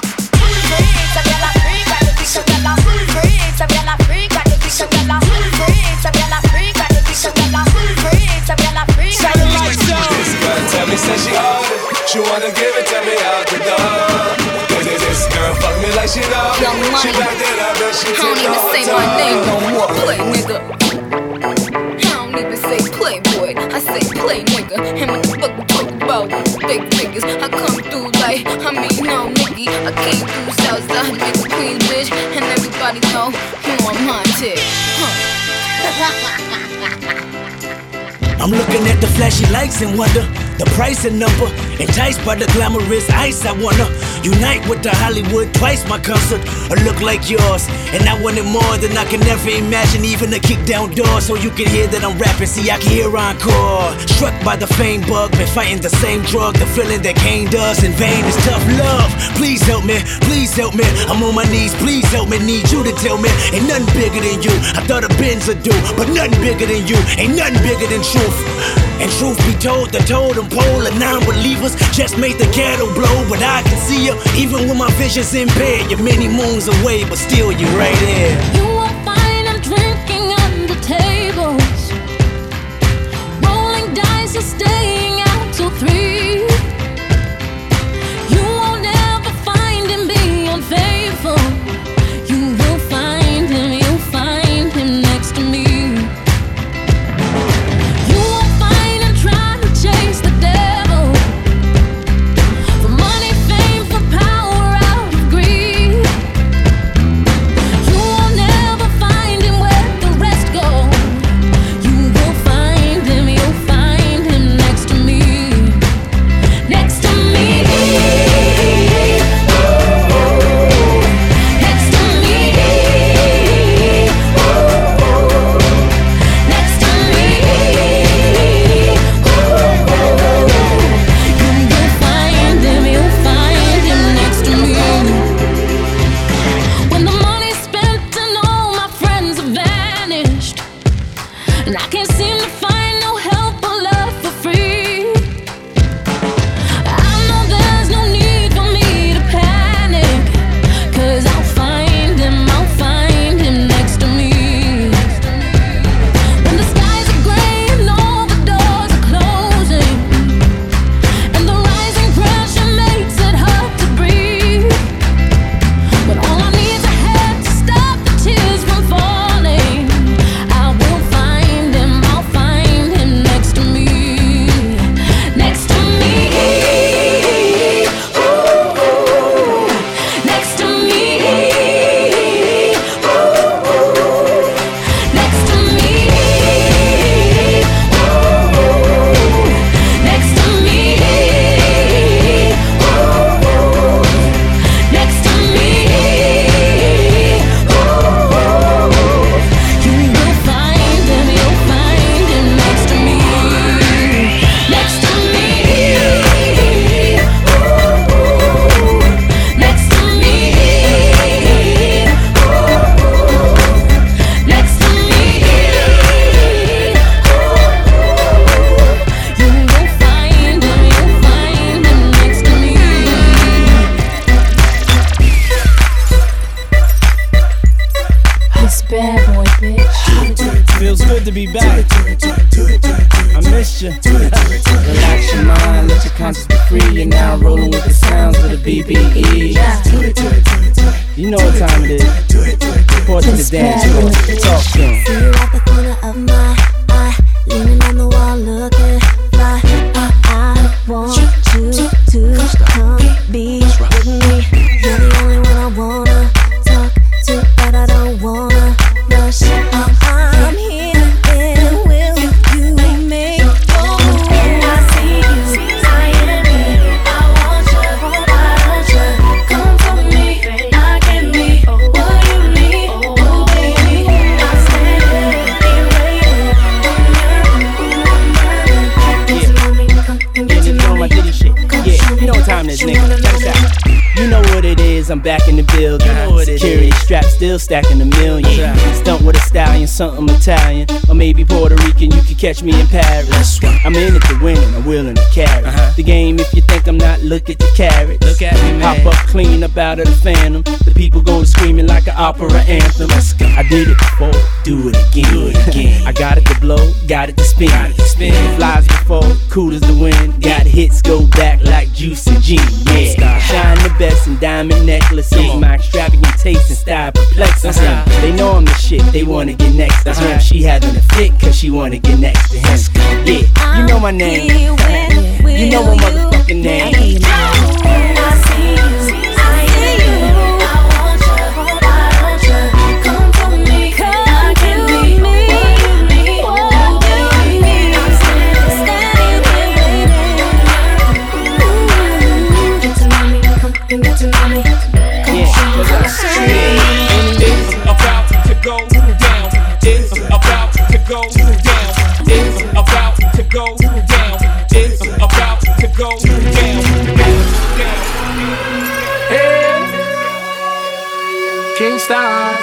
Tell me, say she on it. She wanna give it, tell me out the door. This girl fuck me like she know me. She backed it up and she tipped on her toe. I don't even say my name no more, play nigga. I don't even say playboy, I say play nigga. And when the fuck we talk about big niggas, I come through like, I mean no nigga. I came through Southside, nigga Queens bitch, and everybody know you on my tip. I'm looking at the flashy lights and wonder the price and number. Enticed by the glamorous ice, I wanna unite with the Hollywood twice my concert. A look like yours, and I want it more than I can ever imagine. Even a kick down door, so you can hear that I'm rapping. See, I can hear encore. Struck by the fame bug, been fighting the same drug. The feeling that Kane does in vain is tough love. Please help me, please help me. I'm on my knees, please help me. Need you to tell me, ain't nothing bigger than you. I thought a Benz would do, but nothing bigger than you. Ain't nothing bigger than truth. And truth be told, the totem pole of non-believers just made the ghetto blow. But I can see you, even when my vision's impaired. You're many moons away, but still you're right here. You won't find I'm drinking under tables, rolling dice or staying out till 3. You won't ever find him being unfaithful. You will find him, you'll find him next to me. Chase the devil for money, fame, for power, out of greed. You will never find him where the rest go. You will find him, you'll find him next to me. Next to me. Next to me. Next to me. And I can't seem to find no help or love for free. I know there's no need for me to panic, 'cause I'll find him next to me. When the skies are gray and all the doors are closing, and the rising pressure makes it hard to breathe, when all I need is a head to stop the tears from falling, I will find him, I'll find him next to me. Next to me. Ooh, next to me. Ooh, next to me. Ooh, next to me. Ooh, next to me. Ooh, you will find him, you'll find him next to me. Next to me. Ooh, next to me. Ooh, next to me. You will find him, you'll find him next to me. This bad boy, bitch. Feels good to be back. I missed you. Relax your mind, let your conscience be free. You're now rolling with the sounds of the BBE. You know what time it is. Report to the dance floor. Talk to 'em. See you at the corner of my eye, leaning on the wall, looking fly. I want you to come be with me. You're the only one I wanna talk to, but I don't wanna rush. I'm here, and will you I'm back in the building. Security strap still stacking the million. Stunt with a stallion, something Italian, or maybe Puerto Rican. You can catch me in Paris. I'm in it to win and I'm willing to carry the game. If you think I'm not, look at the carrots. Look at me, man. Hop up clean up out of the phantom. The people go screaming like an opera anthem. I did it before, do it again. I got it to blow, got it to spin. Flies before, cool as the wind. Got hits, go back like Juicy G. Yeah, shine the best in diamond necklaces. My extravagant taste and style perplexes them. They know I'm the shit, they wanna get next to him. She having a fit cause she wanna get next to him. Yeah, you know my name. You know my motherfucking name. Kingston.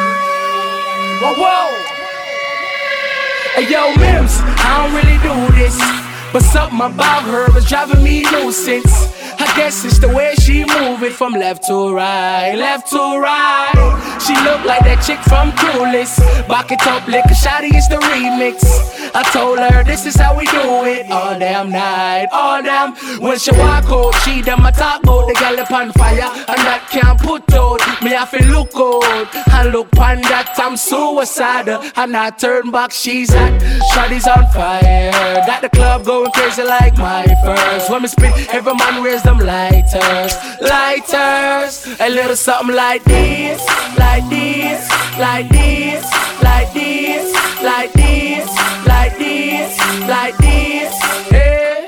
Whoa. Hey yo, Mims, I don't really do this, but something about her is driving me nuisance. I guess it's the way she move it from left to right, left to right. She look like that chick from Clueless. Back it up, lick a shotty, it's the remix. I told her this is how we do it all damn night, all damn. When she walk out, she done my talk out. The girl upon fire, and that can't put out. Me have to look out, and look pon that I'm suicidal. And I turn back, she's hot, shotty's on fire. Got the club going crazy like my first. When me spit, every man raise them lighters, lighters. A little something like this, like this, like this, like this, like this, like this, like this. Hey.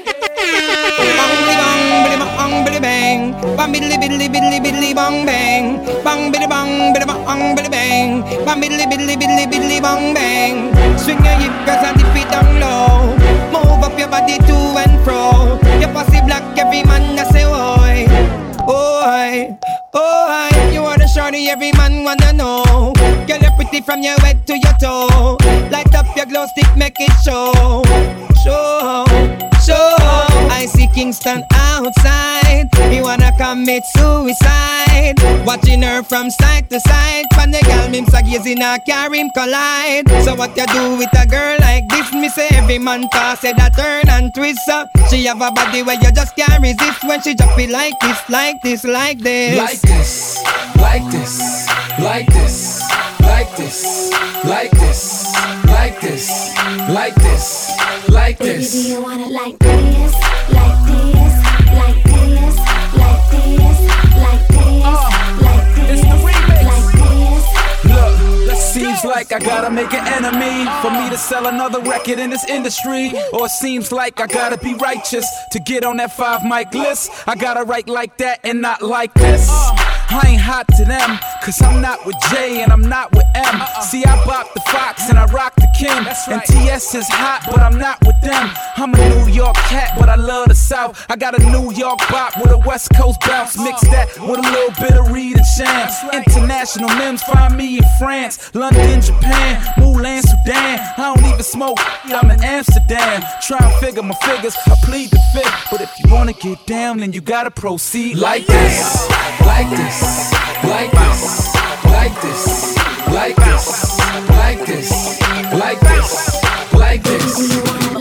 Bang biddy bang, bang biddy biddy biddy biddy bang bang, bang biddy bang biddy bang biddy bang, bang biddy biddy biddy biddy bang bang. Swing your hip 'cause I dip it down low. Move up your body to and fro. Your pussy black, every man I say oi, oi, oi. You are the shorty every man wanna know. Girl, you're pretty from your head to your toe. Light up your glow stick, make it show, show, show. I see Kingston outside. He wanna commit suicide. Watching her from side to side. From the girl, him so gazing a carry him collide. So what you do with a girl like this? Me say every man toss it a turn and twist. She have a body where you just can't resist. When she drop it like this, like this, like this. Like this, like this, like this, like this, like this, like this, like this, like this. Baby, do you want it like this, like this, like this, like this, like this, like this? It's the remix. Like this. Look, seems like I gotta make an enemy for me to sell another record in this industry. Or it seems like I gotta be righteous to get on that 5 mic list. I gotta write like that and not like this. I ain't hot to them, cause I'm not with J and I'm not with M. See, I bop the Fox and I rock the Kim. And TS is hot, but I'm not with them. I'm a New York cat, but I love the South. I got a New York bop with a West Coast bounce. Mix that with a little bit of Reed and Sham. International Mims, find me in France, London, Japan, Mulan, Sudan. I don't even smoke, I'm in Amsterdam. Try and figure my figures, I plead the fifth. But if you wanna get down, then you gotta proceed like this, like this, like this, like this, like this, like this, like this, like this.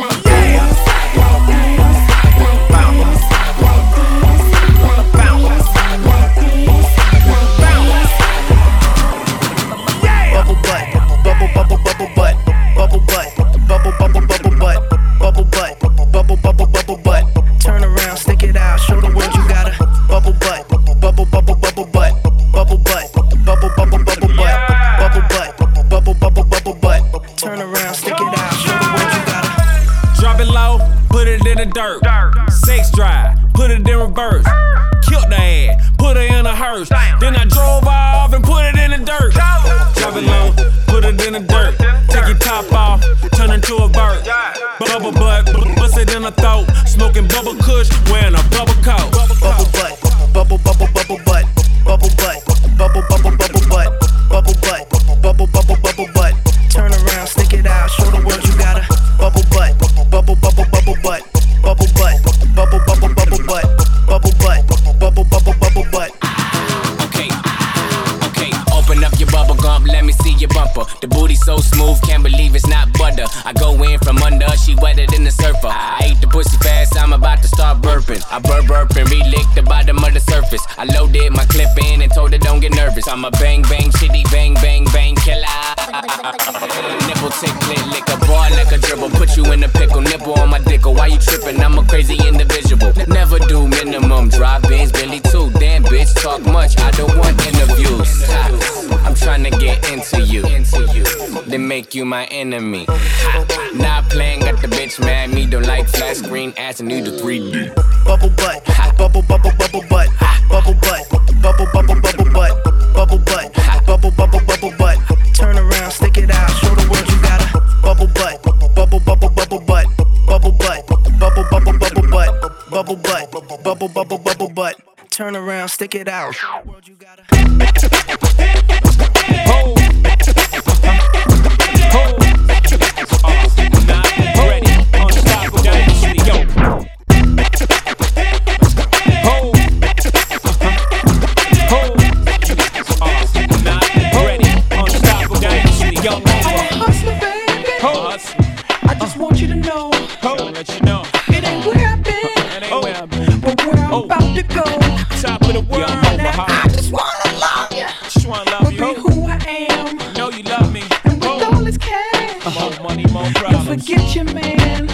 Turn around, stick it out, show the world you got a bubble butt, bubble bubble bubble butt, bubble butt, bubble bubble bubble butt, bubble butt, bubble bubble bubble butt. Turn around, stick it out, show the world you got a. Drop it low, put it in the dirt. Sex drive, put it in reverse. Killed the ass, put her in a hearse. Then I drove off and put it in the dirt. Drop it low, put it in the dirt. Take your top off, turn into a bird. Bubble butt, bust it in the throat. Smoking bubble kush, wearing a bubble coat. Bubble butt, bubble bubble bubble butt. bubble butt, bubble bubble bubble butt, bubble butt, bubble bubble bubble butt. Turn around, stick it out, show the world you got a bubble butt, bubble bubble bubble butt, bubble butt, bubble bubble bubble butt, bubble butt, bubble bubble bubble butt. Okay, open up your bubble gum, let me see your bumper. The booty so smooth, can't believe it's not butter. I go in from under, she wetter than the surfer. I ate the pussy fast, I'm about to start burping. I burp and re-lick the bottom of the surface. I loaded my clip in and told her don't get nervous. I'm a bang bang shitty bang bang bang killer. Nipple tick lick a bar like a dribble. Put you in a pickle, nipple on my dick. Why you tripping? I'm a crazy individual. Never do minimum, drive-ins, Billy too. Damn bitch, talk much, I don't want interviews. I'm trying to get into you, then make you my enemy. Not playing, got the bitch mad. Me don't like flat screen ass and need a 3D. Bubble butt, bubble bubble bubble butt, bubble butt, bubble bubble bubble butt, bubble butt, bubble bubble bubble butt. Turn around, stick it out, show the world you got a bubble butt, bubble bubble bubble butt, bubble butt, bubble bubble bubble butt, bubble butt, bubble bubble bubble butt. Turn around, stick it out. Forget your man,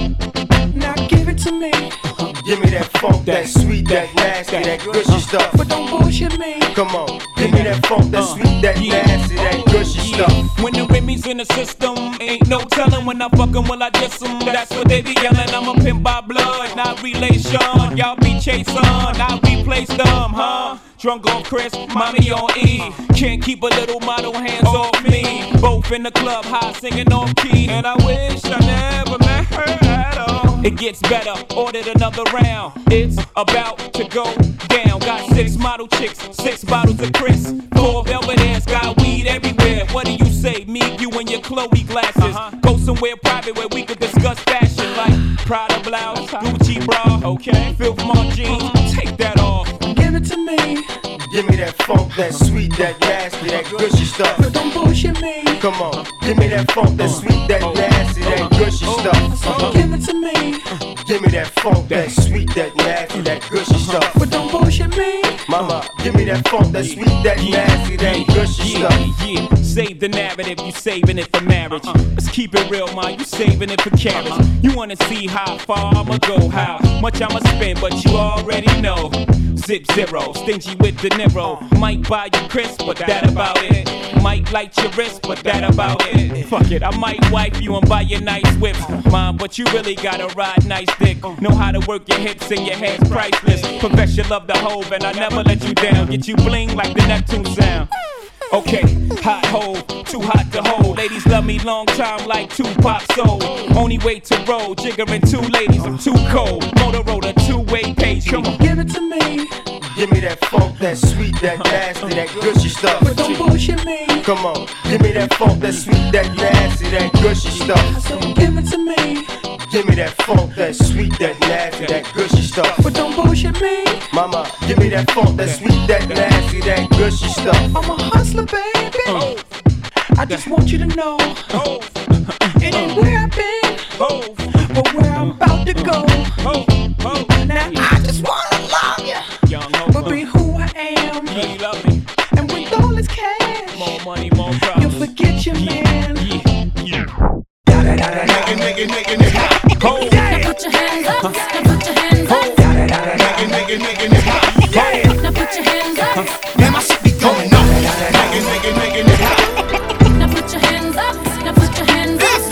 now give it to me. Give me that funk, that sweet, that nasty, that gushy stuff. But don't bullshit me. Come on, give me that funk, that sweet, that nasty, that gushy stuff. When the Remy's in the system, ain't no telling when I fuck 'em, will I diss 'em? That's what they be yelling. I'm a pimp by blood, not relation. Y'all be chasing, I replace them, huh? Drunk on Chris, mommy on E. Can't keep a little model hands off me. Both in the club, high singing off key. And I wish I never met her at all. It gets better, ordered another round. It's about to go down. Got 6 model chicks, 6 bottles of Chris. 4 velvet ass, got weed everywhere. What do you say? Me, you, and your Chloe glasses. Go somewhere private where we could discuss fashion, like Prada blouse, Gucci bra. Okay, Filth Mart jeans, take that off. Give it to me. Give me that funk, that sweet, that nasty, that gushy stuff. But don't bullshit me. Come on, give me that funk, that sweet, that nasty, that gushy stuff. Give it to me. Give me that funk, that sweet, that nasty, that gushy stuff. But don't bullshit me. Mama, give me that funk, that sweet, that nasty, that gushy stuff. Yeah, save the narrative, you saving it for marriage. Let's keep it real, man, you saving it for carriage. You wanna see how far I'ma go, how much I'ma spend, but you already know. Zip zero, stingy with De Niro. Might buy you crisp, but that about it. Might light your wrist, but that about it. Fuck it, I might wipe you and buy you nice whips, mom, but you really gotta ride nice dick. Know how to work your hips and your head's priceless. Confess you love the Hove and I never let you down. Get you bling like the Neptune sound. Okay, hot hole, too hot to hold. Ladies love me long time like Tupac soul. Only way to roll, jiggering 2 ladies, I'm too cold. Motorola 2-way page, come on. Give it to me. Give me that funk, that sweet, that nasty, that gushy stuff. But don't bullshit me. Come on, give me that funk, that sweet, that nasty, that gushy stuff. So give it to me. Give me that funk, that sweet, that nasty, that gushy stuff. But don't bullshit me. Mama, give me that funk, that sweet, that nasty, that gushy stuff. I'm a hustler, baby. I just want you to know it ain't where I've been, but where I'm about to go. Now I just wanna love you, but be who I am. And with all this cash, more money, more problems. You'll forget your man. Now put your hands up, now put your hands up. Now put your hands up. Man, my shit be going up. Now put your hands up, now put your hands up.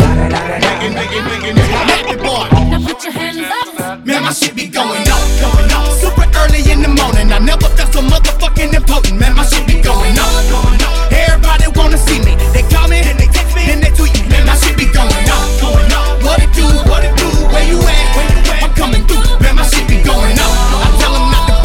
Now put your hands up. Man, my shit be going up, going up. Super early in the morning, I never felt so motherfucking important. Man, my shit be going up, going up. Everybody wanna see me, they call me, then they text me, then they tweet me. Man, my shit be going up, going up. What it do, where you at? I'm coming through, man, my shit be going up. I tell them not to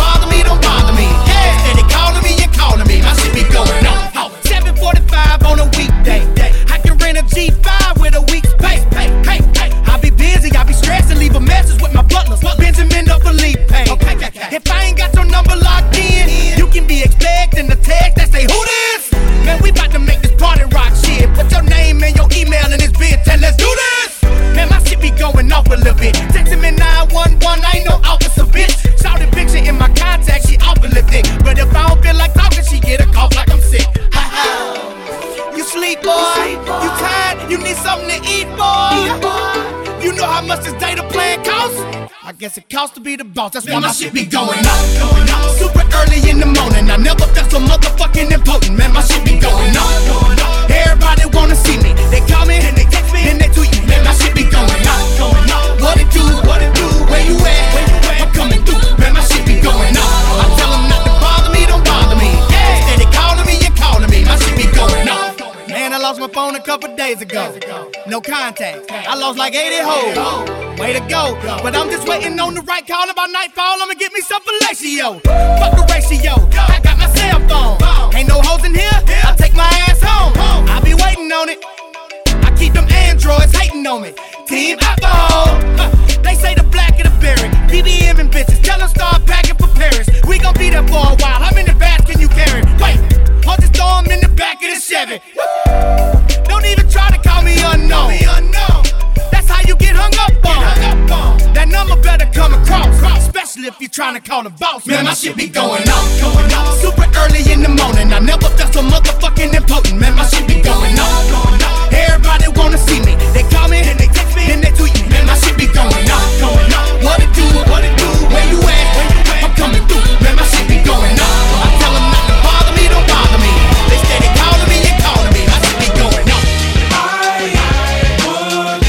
boy. You tired? You need something to eat, boy. You know how much this data plan costs? I guess it costs to be the boss. That's why my shit be going up. Super early in the morning. I never felt so motherfucking important. Man, my shit be going up. Everybody wanna see me. They call me, and they text me, and they tweet me. Man, my shit be going up. What it do? Where you at? I'm coming through. Man, my shit be going up. I tell them not to bother me, don't bother me. Yeah, they calling me, you're calling me. My shit be going up. Man, I lost my phone a couple days ago. No contact. I lost like 80 hoes. Way to go. But I'm just waiting on the right call. About nightfall, I'ma get me some fellatio. Fuck the ratio. I got my cell phone. Ain't no hoes in here. I take my ass home. I be waiting on it. I keep them androids hating on me. Team alcohol. They say the black of the berry. BBM and bitches. Tell them start packing for Paris. We gon' be there for a while. How many bags can you carry? Wait. I'll just throw them in the back of the Chevy. Don't even try to call me unknown. That's how you get hung up on. That number better come across, especially if you're trying to call the boss. Man, my shit be going up. Super early in the morning. I never felt so motherfucking important. Man, my shit be going up. Everybody wanna see me. They call me, and they text me, and they tweet me. Man, my shit be going up. What it do? Where you at? I'm coming through. Man, my shit be going up. I tell them not to bother me, don't bother me. They steady calling me and calling me. My shit be going up. I would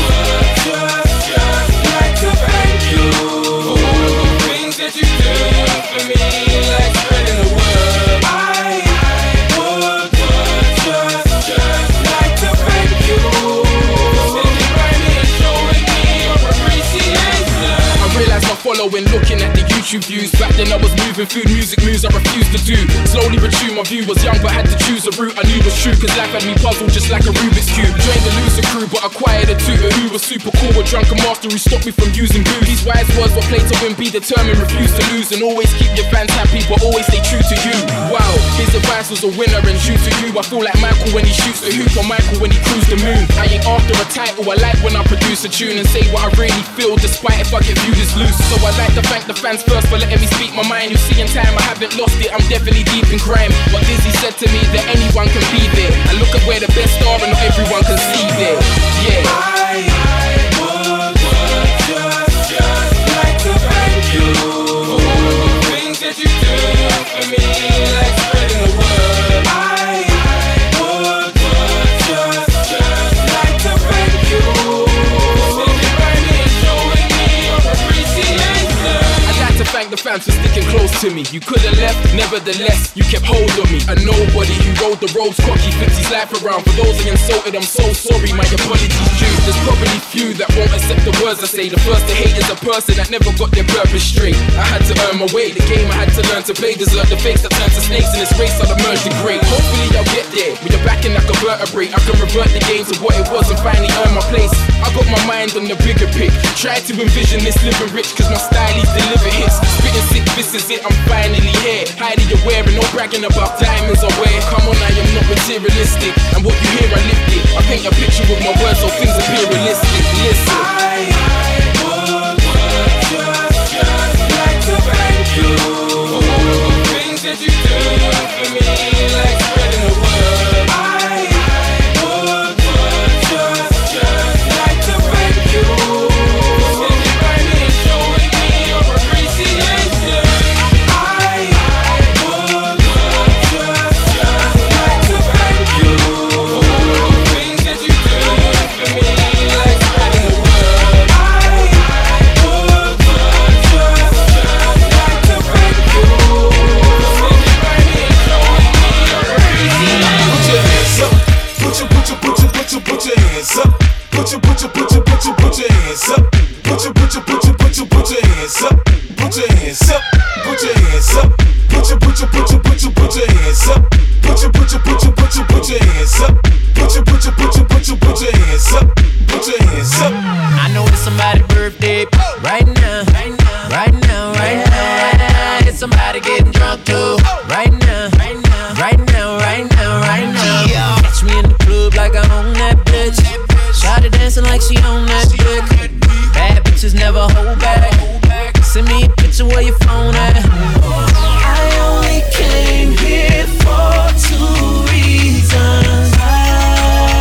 just like to thank you for the things that you do for me, like spreading the word. I would just like to thank you for sitting by me and showing me your appreciation. I realized my following, looking at the YouTube views. Back then I was moving food, music moves I refused to do. Slowly retune, my view was young but had to choose a route I knew was true. Cause life had me puzzled just like a Rubik's Cube. Joined the loser crew but acquired a tutor who was super cool. A drunken master who stopped me from using booze. These wise words were played to win, be determined, refuse to lose. And always keep your fans happy but always stay true to you. Wow, his advice was a winner and true to you. I feel like Michael when he shoots the hoop or Michael when he cruised the moon. I ain't after a title, I like when I produce a tune and say what I really feel despite if I get viewed as loose. So I like to thank the fans first for letting me speak my mind. You see in time I haven't lost it, I'm definitely deep in crime. But Dizzy said to me that anyone can be there. And look at where the best are and not everyone can see there. Yeah. I would just like to thank you for the things that you do for me, like spreading the word. I would just like to thank you for sitting by me and showing me your appreciation. I'd like to thank the fans for sticking close to me. You could have left, nevertheless, you kept hold of me. A nobody who rode the roads cocky, flips his life around. For those I insulted, I'm so sorry, my apologies due. There's probably few that won't accept the words I say. The first to hate is a person that never got their purpose straight. I had to earn my way, the game I had to learn to play. Desert the fakes that turn to snakes in this race, I'll emerge the great. Hopefully I'll get there, with your backing like a vertebrae. I can revert the game to what it was and finally earn my place. I got my mind on the bigger pic. Try to envision this living rich, cause my style is deliver hits. Spitting sick, this is it, I'm finally here. Highly aware and no bragging about diamonds I wear. Come on, I am not materialistic, and what you hear I lift it. I paint a picture with my words so things appear realistic. Listen, I would just like to thank you for the things that you do for me, like spreading the word. I would just like to thank you for sitting by me and showing me your appreciation. I would just like to thank you for the things that you do for me, like spreading the word. I would just like to thank you for sitting by me and showing me your appreciation. Put your hands up. Put your hands up. Put your hands up. Put your hands up. Put your hands up. Put your hands up. Put your hands up. Put your hands up. Put your hands up. Put your hands up. Put your hands up. I know it's somebody's birthday right now. Right now. It's somebody getting drunk too. Right now. Catch me in the club like I own that bitch. Shawty dancing like she own that dick. Bad bitches never hold back. Send me a picture where your phone at. I only came here for 2 reasons. I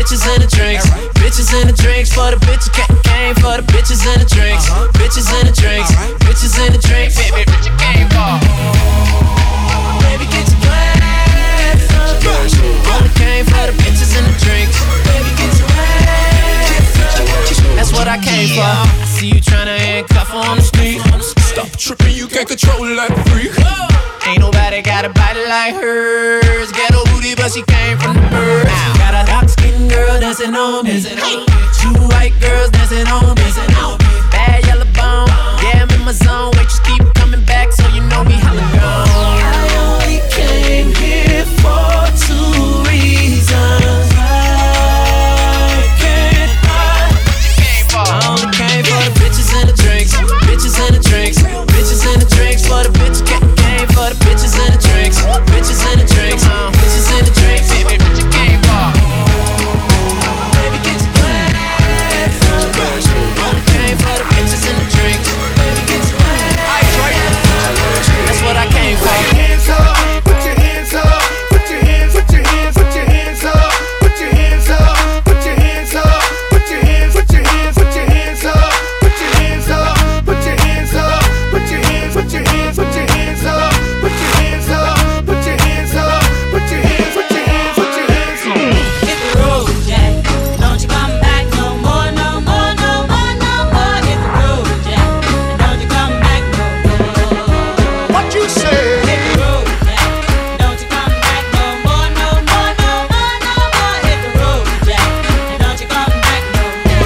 bitches and the drinks. Bitches and the drinks for the bitches came for the bitches and the drinks. Bitches and the drinks. Bitches and the drinks. Baby, bitch, you came for. Baby, get your glass up. Only came for the bitches and the drinks. Baby, get your glass up. That's what I came for. I see you tryna handcuff on the street. Stop tripping, you can't control it like a freak. Ain't nobody got a body like hers. Ghetto booty, but she came from the birds. Got a dark-skinned girl dancing on me. Two white girls dancing on me. Bad yellow bone, yeah, I'm in my zone. Waitress keep coming back, so you know me hella gone. I only came here for 2 reasons. I can't hide. I only came for the bitches and the drinks. Bitches and the drinks. Bitches and the drinks for the bitches. Came for the bitches and the drinks. Bitches and the drinks. Bitches and the drinks. Baby, bitch, you came for. Baby, get your glass up. Only came for the bitches and the drinks. Baby, get your glass up. That's what I came for. Put your hands up. Put your hands up. Put your hands. Put your hands. Put your hands up. Put your hands up. Put your hands up. Put your hands. Put your hands. Put your hands up. Put your hands up. Put your hands up. Put your hands. Put your hands. Put your hands up. Put your hands up. Put your hands up. Put your hands. Put your hands. Put your hands up. Hit the road, Jack. Don't you come back no more, no more, no more, no more. Hit the road, Jack. Don't you come back no more. What you say? Hit the road, Jack. Don't you come back no more, no more, no more, no more. Hit the road, Jack. Don't you come back no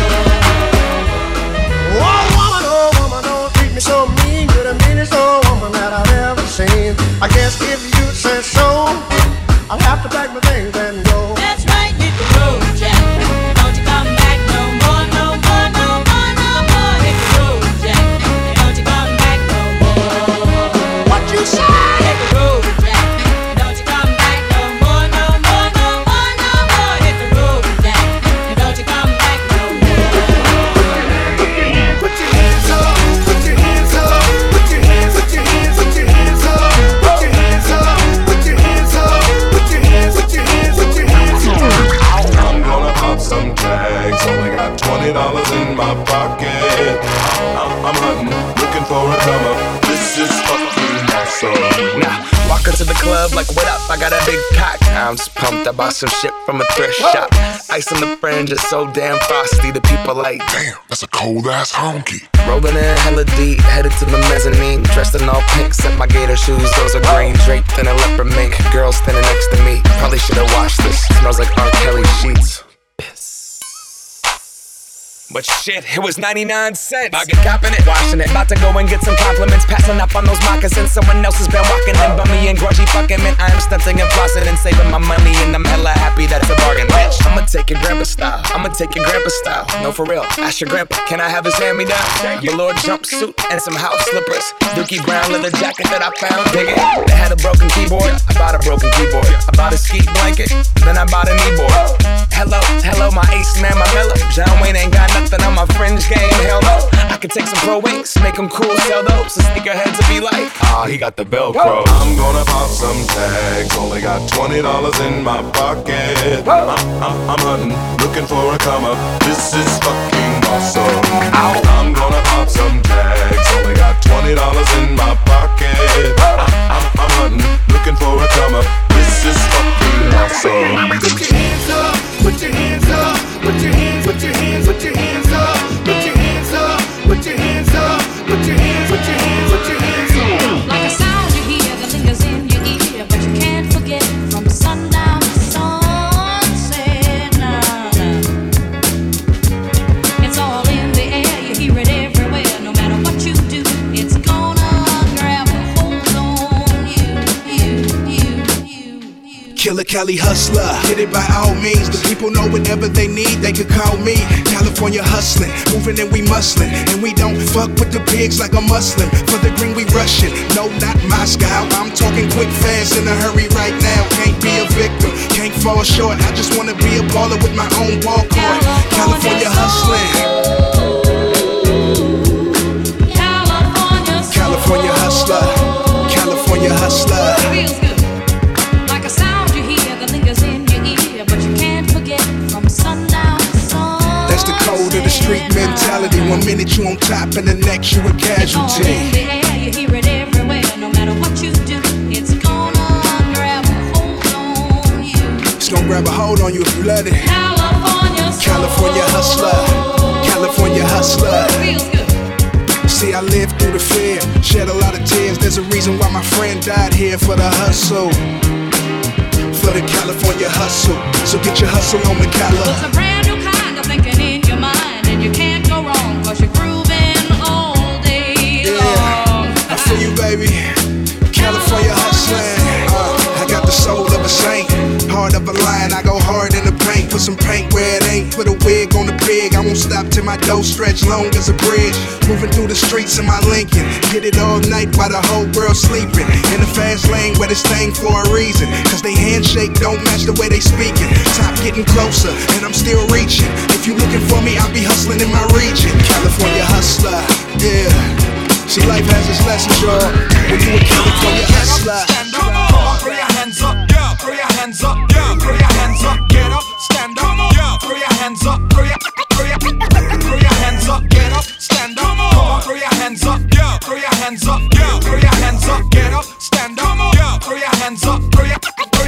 Oh woman, don't treat me so mean. You're the meanest old woman that I've ever seen. I guess if you say so, I'll have to pack my things and go. That's right, hit the road, Jack. Don't you come back no more, no more, no more, no more. Hit the road, Jack. Don't you come back no more. What you say? Hit the road, Jack. Don't you come back no more, no more, no more, no more. Hit the road, Jack. Don't you come back no more. Put your hands up. Put your hands up. Put your hands. Put your hands. Put your hands up. Put your hands up. Put your hands up. Put your hands. Put your hands. Put your hands up. I'm gonna pop some tags. Only got $20 in my pocket. I'm hunting, looking for a come up. This is fucking awesome. Nah, walk into the club like, what up? I got a big cock. I'm just pumped. I bought some shit from a thrift shop. Ice on the fringe is so damn frosty. The people like, damn, that's a cold ass honky. Rolling in hella deep, headed to the mezzanine. Dressed in all pink, set my gator shoes, those are green. Draped in a leopard mink, girl standing next to me. Probably should've washed this, smells like R. Kelly sheets. But shit, it was 99 cents. I get copping it, washing it. About to go and get some compliments. Passing up on those moccasins. Someone else has been walking in. Bummy and grungy fucking man. I am stunting and flossing and saving my money. And I'm hella happy that it's a bargain, bitch. I'ma take your grandpa style. I'ma take your grandpa style. No, for real. Ask your grandpa, can I have his hand-me-down? Velour jumpsuit and some house slippers. Dookie brown leather jacket that I found. Dig it. They had a broken keyboard. I bought a broken keyboard. I bought a ski blanket. Then I bought a kneeboard. Hello, my ace man, my mellow. John Wayne ain't got nothing on my fringe game, hell no. I could take some pro wings, make them cool, sell those. So sneakerheads will be like, he got the Velcro. I'm gonna pop some tags. Only got $20 in my pocket. I'm hunting, looking for a come up. This is fucking awesome. I'm gonna pop some tags. Only got $20 in my pocket. I'm hunting, looking for a come up. This is fucking awesome. Put your hands up. Put your hands up. Put your hands. Put your hands. Put your hands up. Put your hands up. Put your hands up. Put your hands. Put your hands. Put your hands up. Like a sound you hear that lingers in your ear, but you can't forget from sundown to sunset. Nah. It's all in the air, you hear it everywhere. No matter what you do, it's gonna grab a hold on you. Killer Cali hustler, get it by all means. The people know whatever they need, they could call me. California hustling, moving and we muscling. And we don't fuck with the pigs like a Muslim. For the green we rushing, no not Moscow. I'm talking quick, fast, in a hurry right now. Can't be a victim, can't fall short. I just wanna be a baller with my own ball court. California hustling. California hustler, California hustler. Feels good, like a sound you hear that lingers in your ear, but you can't forget from sun you on top, and the next you a casualty. In the air, you hear it everywhere. No matter what you do, it's gonna grab a hold on you. It's gonna grab a hold on you if you let it. California hustler, California hustler. Feels good. See, I lived through the fear, shed a lot of tears. There's a reason why my friend died here for the hustle. For the California hustle. So get your hustle on the Cali. It's a brand new kind of thinking in your mind, and you can't go wrong, cause you're grooving all day long. I feel you, baby. California hustling. I got the soul of a saint, heart of a lion. I go hard in the paint, put some paint where it ain't. Put a wig on the pig. I won't stop till my dough stretch long as a bridge. Moving through the streets in my Lincoln, get it all night while the whole world sleeping. In the fast lane where this thing for a reason, cause they handshake don't match the way they speaking. Top getting closer and I'm still reaching. If you looking for me, I'll be hustling in my region. California hustler, yeah. See, life has its lessons, y'all. When you a California hustler. Come on, throw your hands up, yeah. Throw your hands up, yeah. Throw your hands up, get up, stand up, yeah. Throw your hands up, throw your hands up, get up, stand up. Come on, throw your hands up, yeah. Throw your hands up, yeah. Throw your hands up, get up, stand up, yeah. Throw your hands up, throw your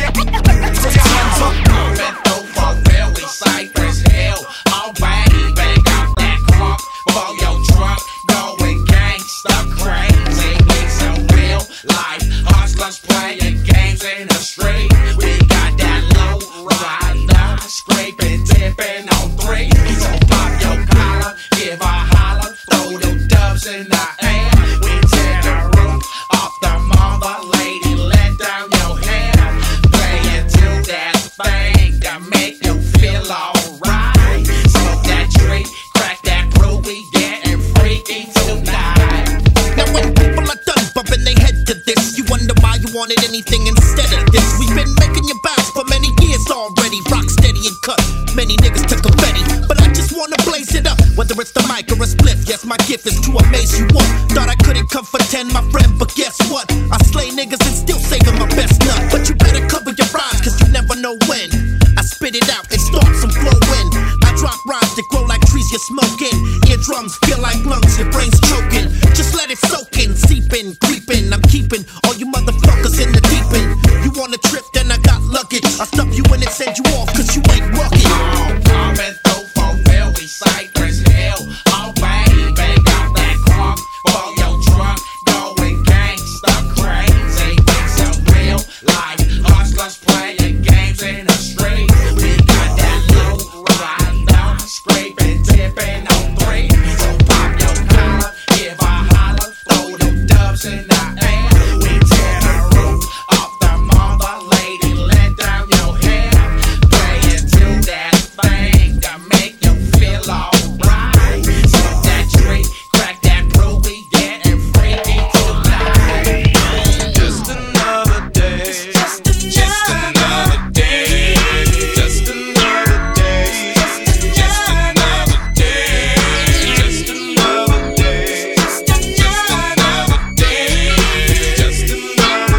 hands up. Moving through for real, we Cypress Hill. Alright, bang out that crunk for your trunk, going gangsta crazy. We some real life hustlers playing games in the street. We got that low rider, scraping, tipping on 3. So pop your collar, give a holler, throw them dubs in the air. We tear the roof off the mother, lady, let down your hair. Play into that thing that make you feel alright. Smoke that tree, crack that brew, we getting freaky tonight. Now when people are done bumping their head to this, you wonder why you wanted anything instead of this. We've been making you bounce for many years already. Rock steady and cut, many niggas took confetti, but I just wanna blaze it up. Whether it's the mic or a spliff, yes, my gift is to amaze you all. Thought I couldn't come for 10, my friend, but guess what? I slay niggas and still saving my best nut. But you better cover your rhymes, cause you never know when I spit it out and start some flowing. I drop rhymes that grow like trees you're smoking. Eardrums feel like lungs, your brain's choking. Just let it soak in, seeping, creeping. I'm keeping all you motherfuckers in the deep end. You want a trip, then I got luggage. I'll stuff you in and send you off, cause you ain't rugged. Coming through for real, we Cypress Hill. Alright, bang out that crunk for your trunk, going gangsta crazy. We some real life hustlers playing games in the street. We got that low rider, scraping, tipping on 3. So pop your collar, give a holler, throw them dubs in the air. We tear the roof off the mother, lady, let down your hair. Play into that thing that make you feel alright. Smoke that tree, crack that brew, we getting freaky tonight. Just another day. Just another day. Just another day. Just another day. Just another day. Just another day. Just another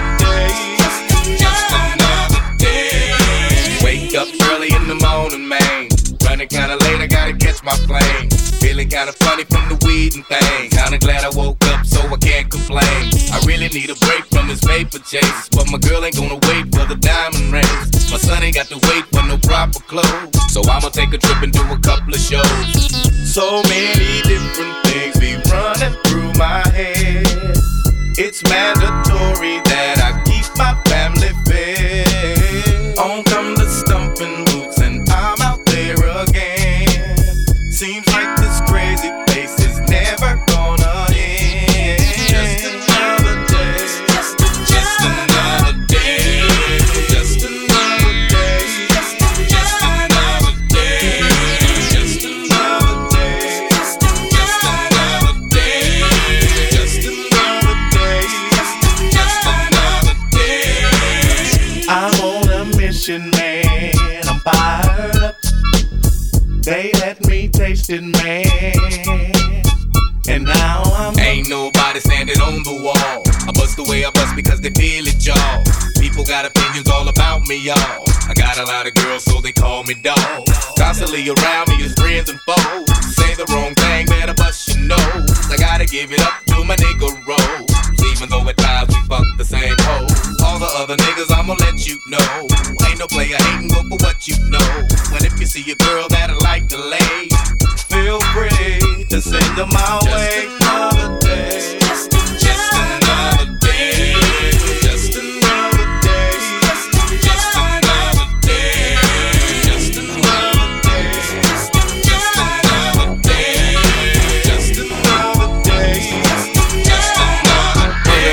day. Wake up early in the morning, man. Running kinda late, I gotta catch my plane. Feeling kinda funny from the weed and things. Kinda glad I woke up so I can't complain. I really need a break from this paper chase, but my girl ain't gonna wait for the diamond rings. My son ain't got to wait for no proper clothes, so I'ma take a trip and do a couple of shows. So many different things be running through my head. It's mandatory that I keep my family fed. On come the stumping boots and I'm out there again. Seems like this crazy place is never gonna end. Just another day. Just another day. Just another day. Just another day. Just another day. Just another day. Just another day. Just another day. I'm on a mission, man. I'm fired up. They let me taste it, man. And now I'm ain't nobody standing on the wall. I bust the way I bust because they feel it, y'all. People got opinions all about me, y'all. I got a lot of girls, so they call me dog. Constantly around me is friends and foes. Say the wrong thing, better bust your nose. I gotta give it up to my nigga Rose. Even though at times we fuck the same hoe. All the other niggas, I'ma let you know. Ain't no player hating, go for what you know. When if you see a girl that I like to lay, feel free to send her my way. Just another day. Just another day. Just another day. Just another day. Just another day. Just another day. Just another day. Just another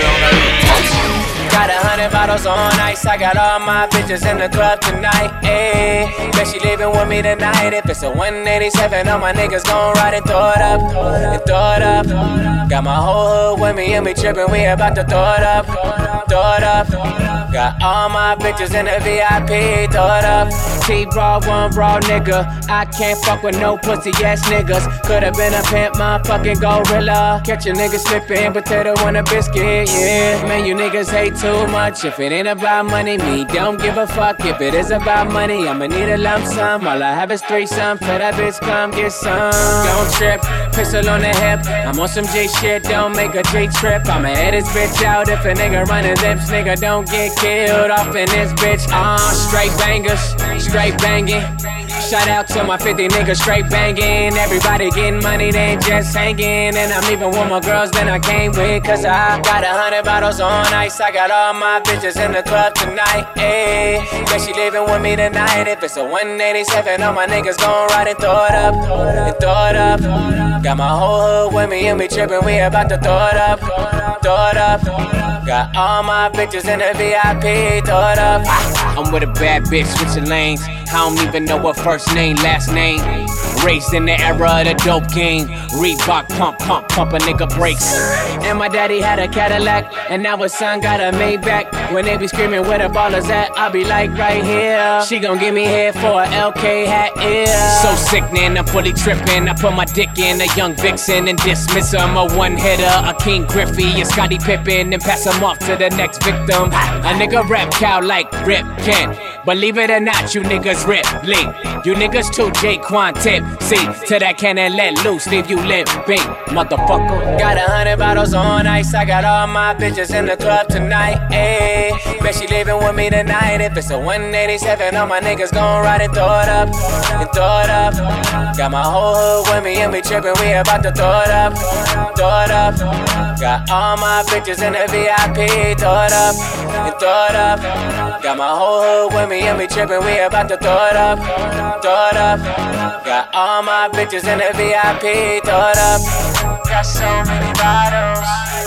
day. Got 100 bottles on ice. I got all my bitches in the club tonight. Ayy, bet she leaving with me tonight. If it's a 187, all my niggas gon' ride and throw it up, and throw it up. Got my whole hood with me and we trippin'. We about to throw it up, throw it up. Got all my bitches in the VIP. Throw it up. T-Raw, one raw nigga. I can't fuck with no pussy ass niggas. Could've been a pimp, motherfucking gorilla. Catch a nigga slippin', potato on a biscuit, yeah. Man, you niggas hate too much. If it ain't about money, me don't give a fuck. If it is about money, I'ma need a lump sum. All I have is threesome. Tell that bitch come get some. Don't trip, pistol on the hip. I'm on some J shit, don't make a J trip. I'ma head this bitch out. If a nigga running lips, nigga don't get killed off in this bitch. Straight bangers, straight banging. Shout out to my 50 niggas straight banging. Everybody getting money, they ain't just hanging. And I'm leaving with more girls than I came with. Cause I got 100 bottles on ice. I got all my bitches in the club tonight. Ayy, bet she leaving with me tonight. If it's a 187, all my niggas gon' ride and throw it up, and throw it up. Got my whole hood with me and we trippin'. We about to throw it up, throw it up. Got all my bitches in the VIP. Throw it up. I'm with a bad bitch, switching lanes. I don't even know her first name, last name. Raised in the era of the dope game. Reebok pump, pump a nigga brakes. And my daddy had a Cadillac, and now his son got a Maybach. When they be screaming where the ballers at, I be like right here. She gon' give me head for a LK hat, yeah. So sickening, I'm fully tripping. I put my dick in a young vixen and dismiss him. A one-hitter, a King Griffey, a Scottie Pippen, and pass him off to the next victim. A nigga rap cow like Rip Kent. Believe it or not, you niggas rip link. You niggas too J-Quan tip. See, to that cannon let loose, leave you limping, motherfucker. Got 100 bottles on ice. I got all my bitches in the club tonight. Ayy, bet she leaving with me tonight. If it's a 187, all my niggas gon' ride and throw it up, and throw it up. Got my whole hood with me and we trippin'. We about to throw it up, throw it up. Got all my bitches in the VIP. Throw it up, and throw it up. Got my whole hood with me and we trippin'. We about to throw it up, throw it up. Got all my bitches in the VIP. Throw it up. Got so many bottles.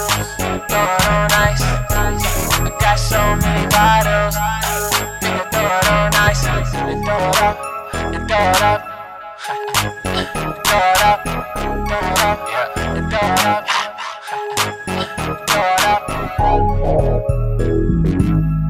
Throw it on ice. I got so many bottles. Throw it on ice. And throw it up. And throw it up. Throw it up. Throw it up. Yeah. And throw it up. Throw it up.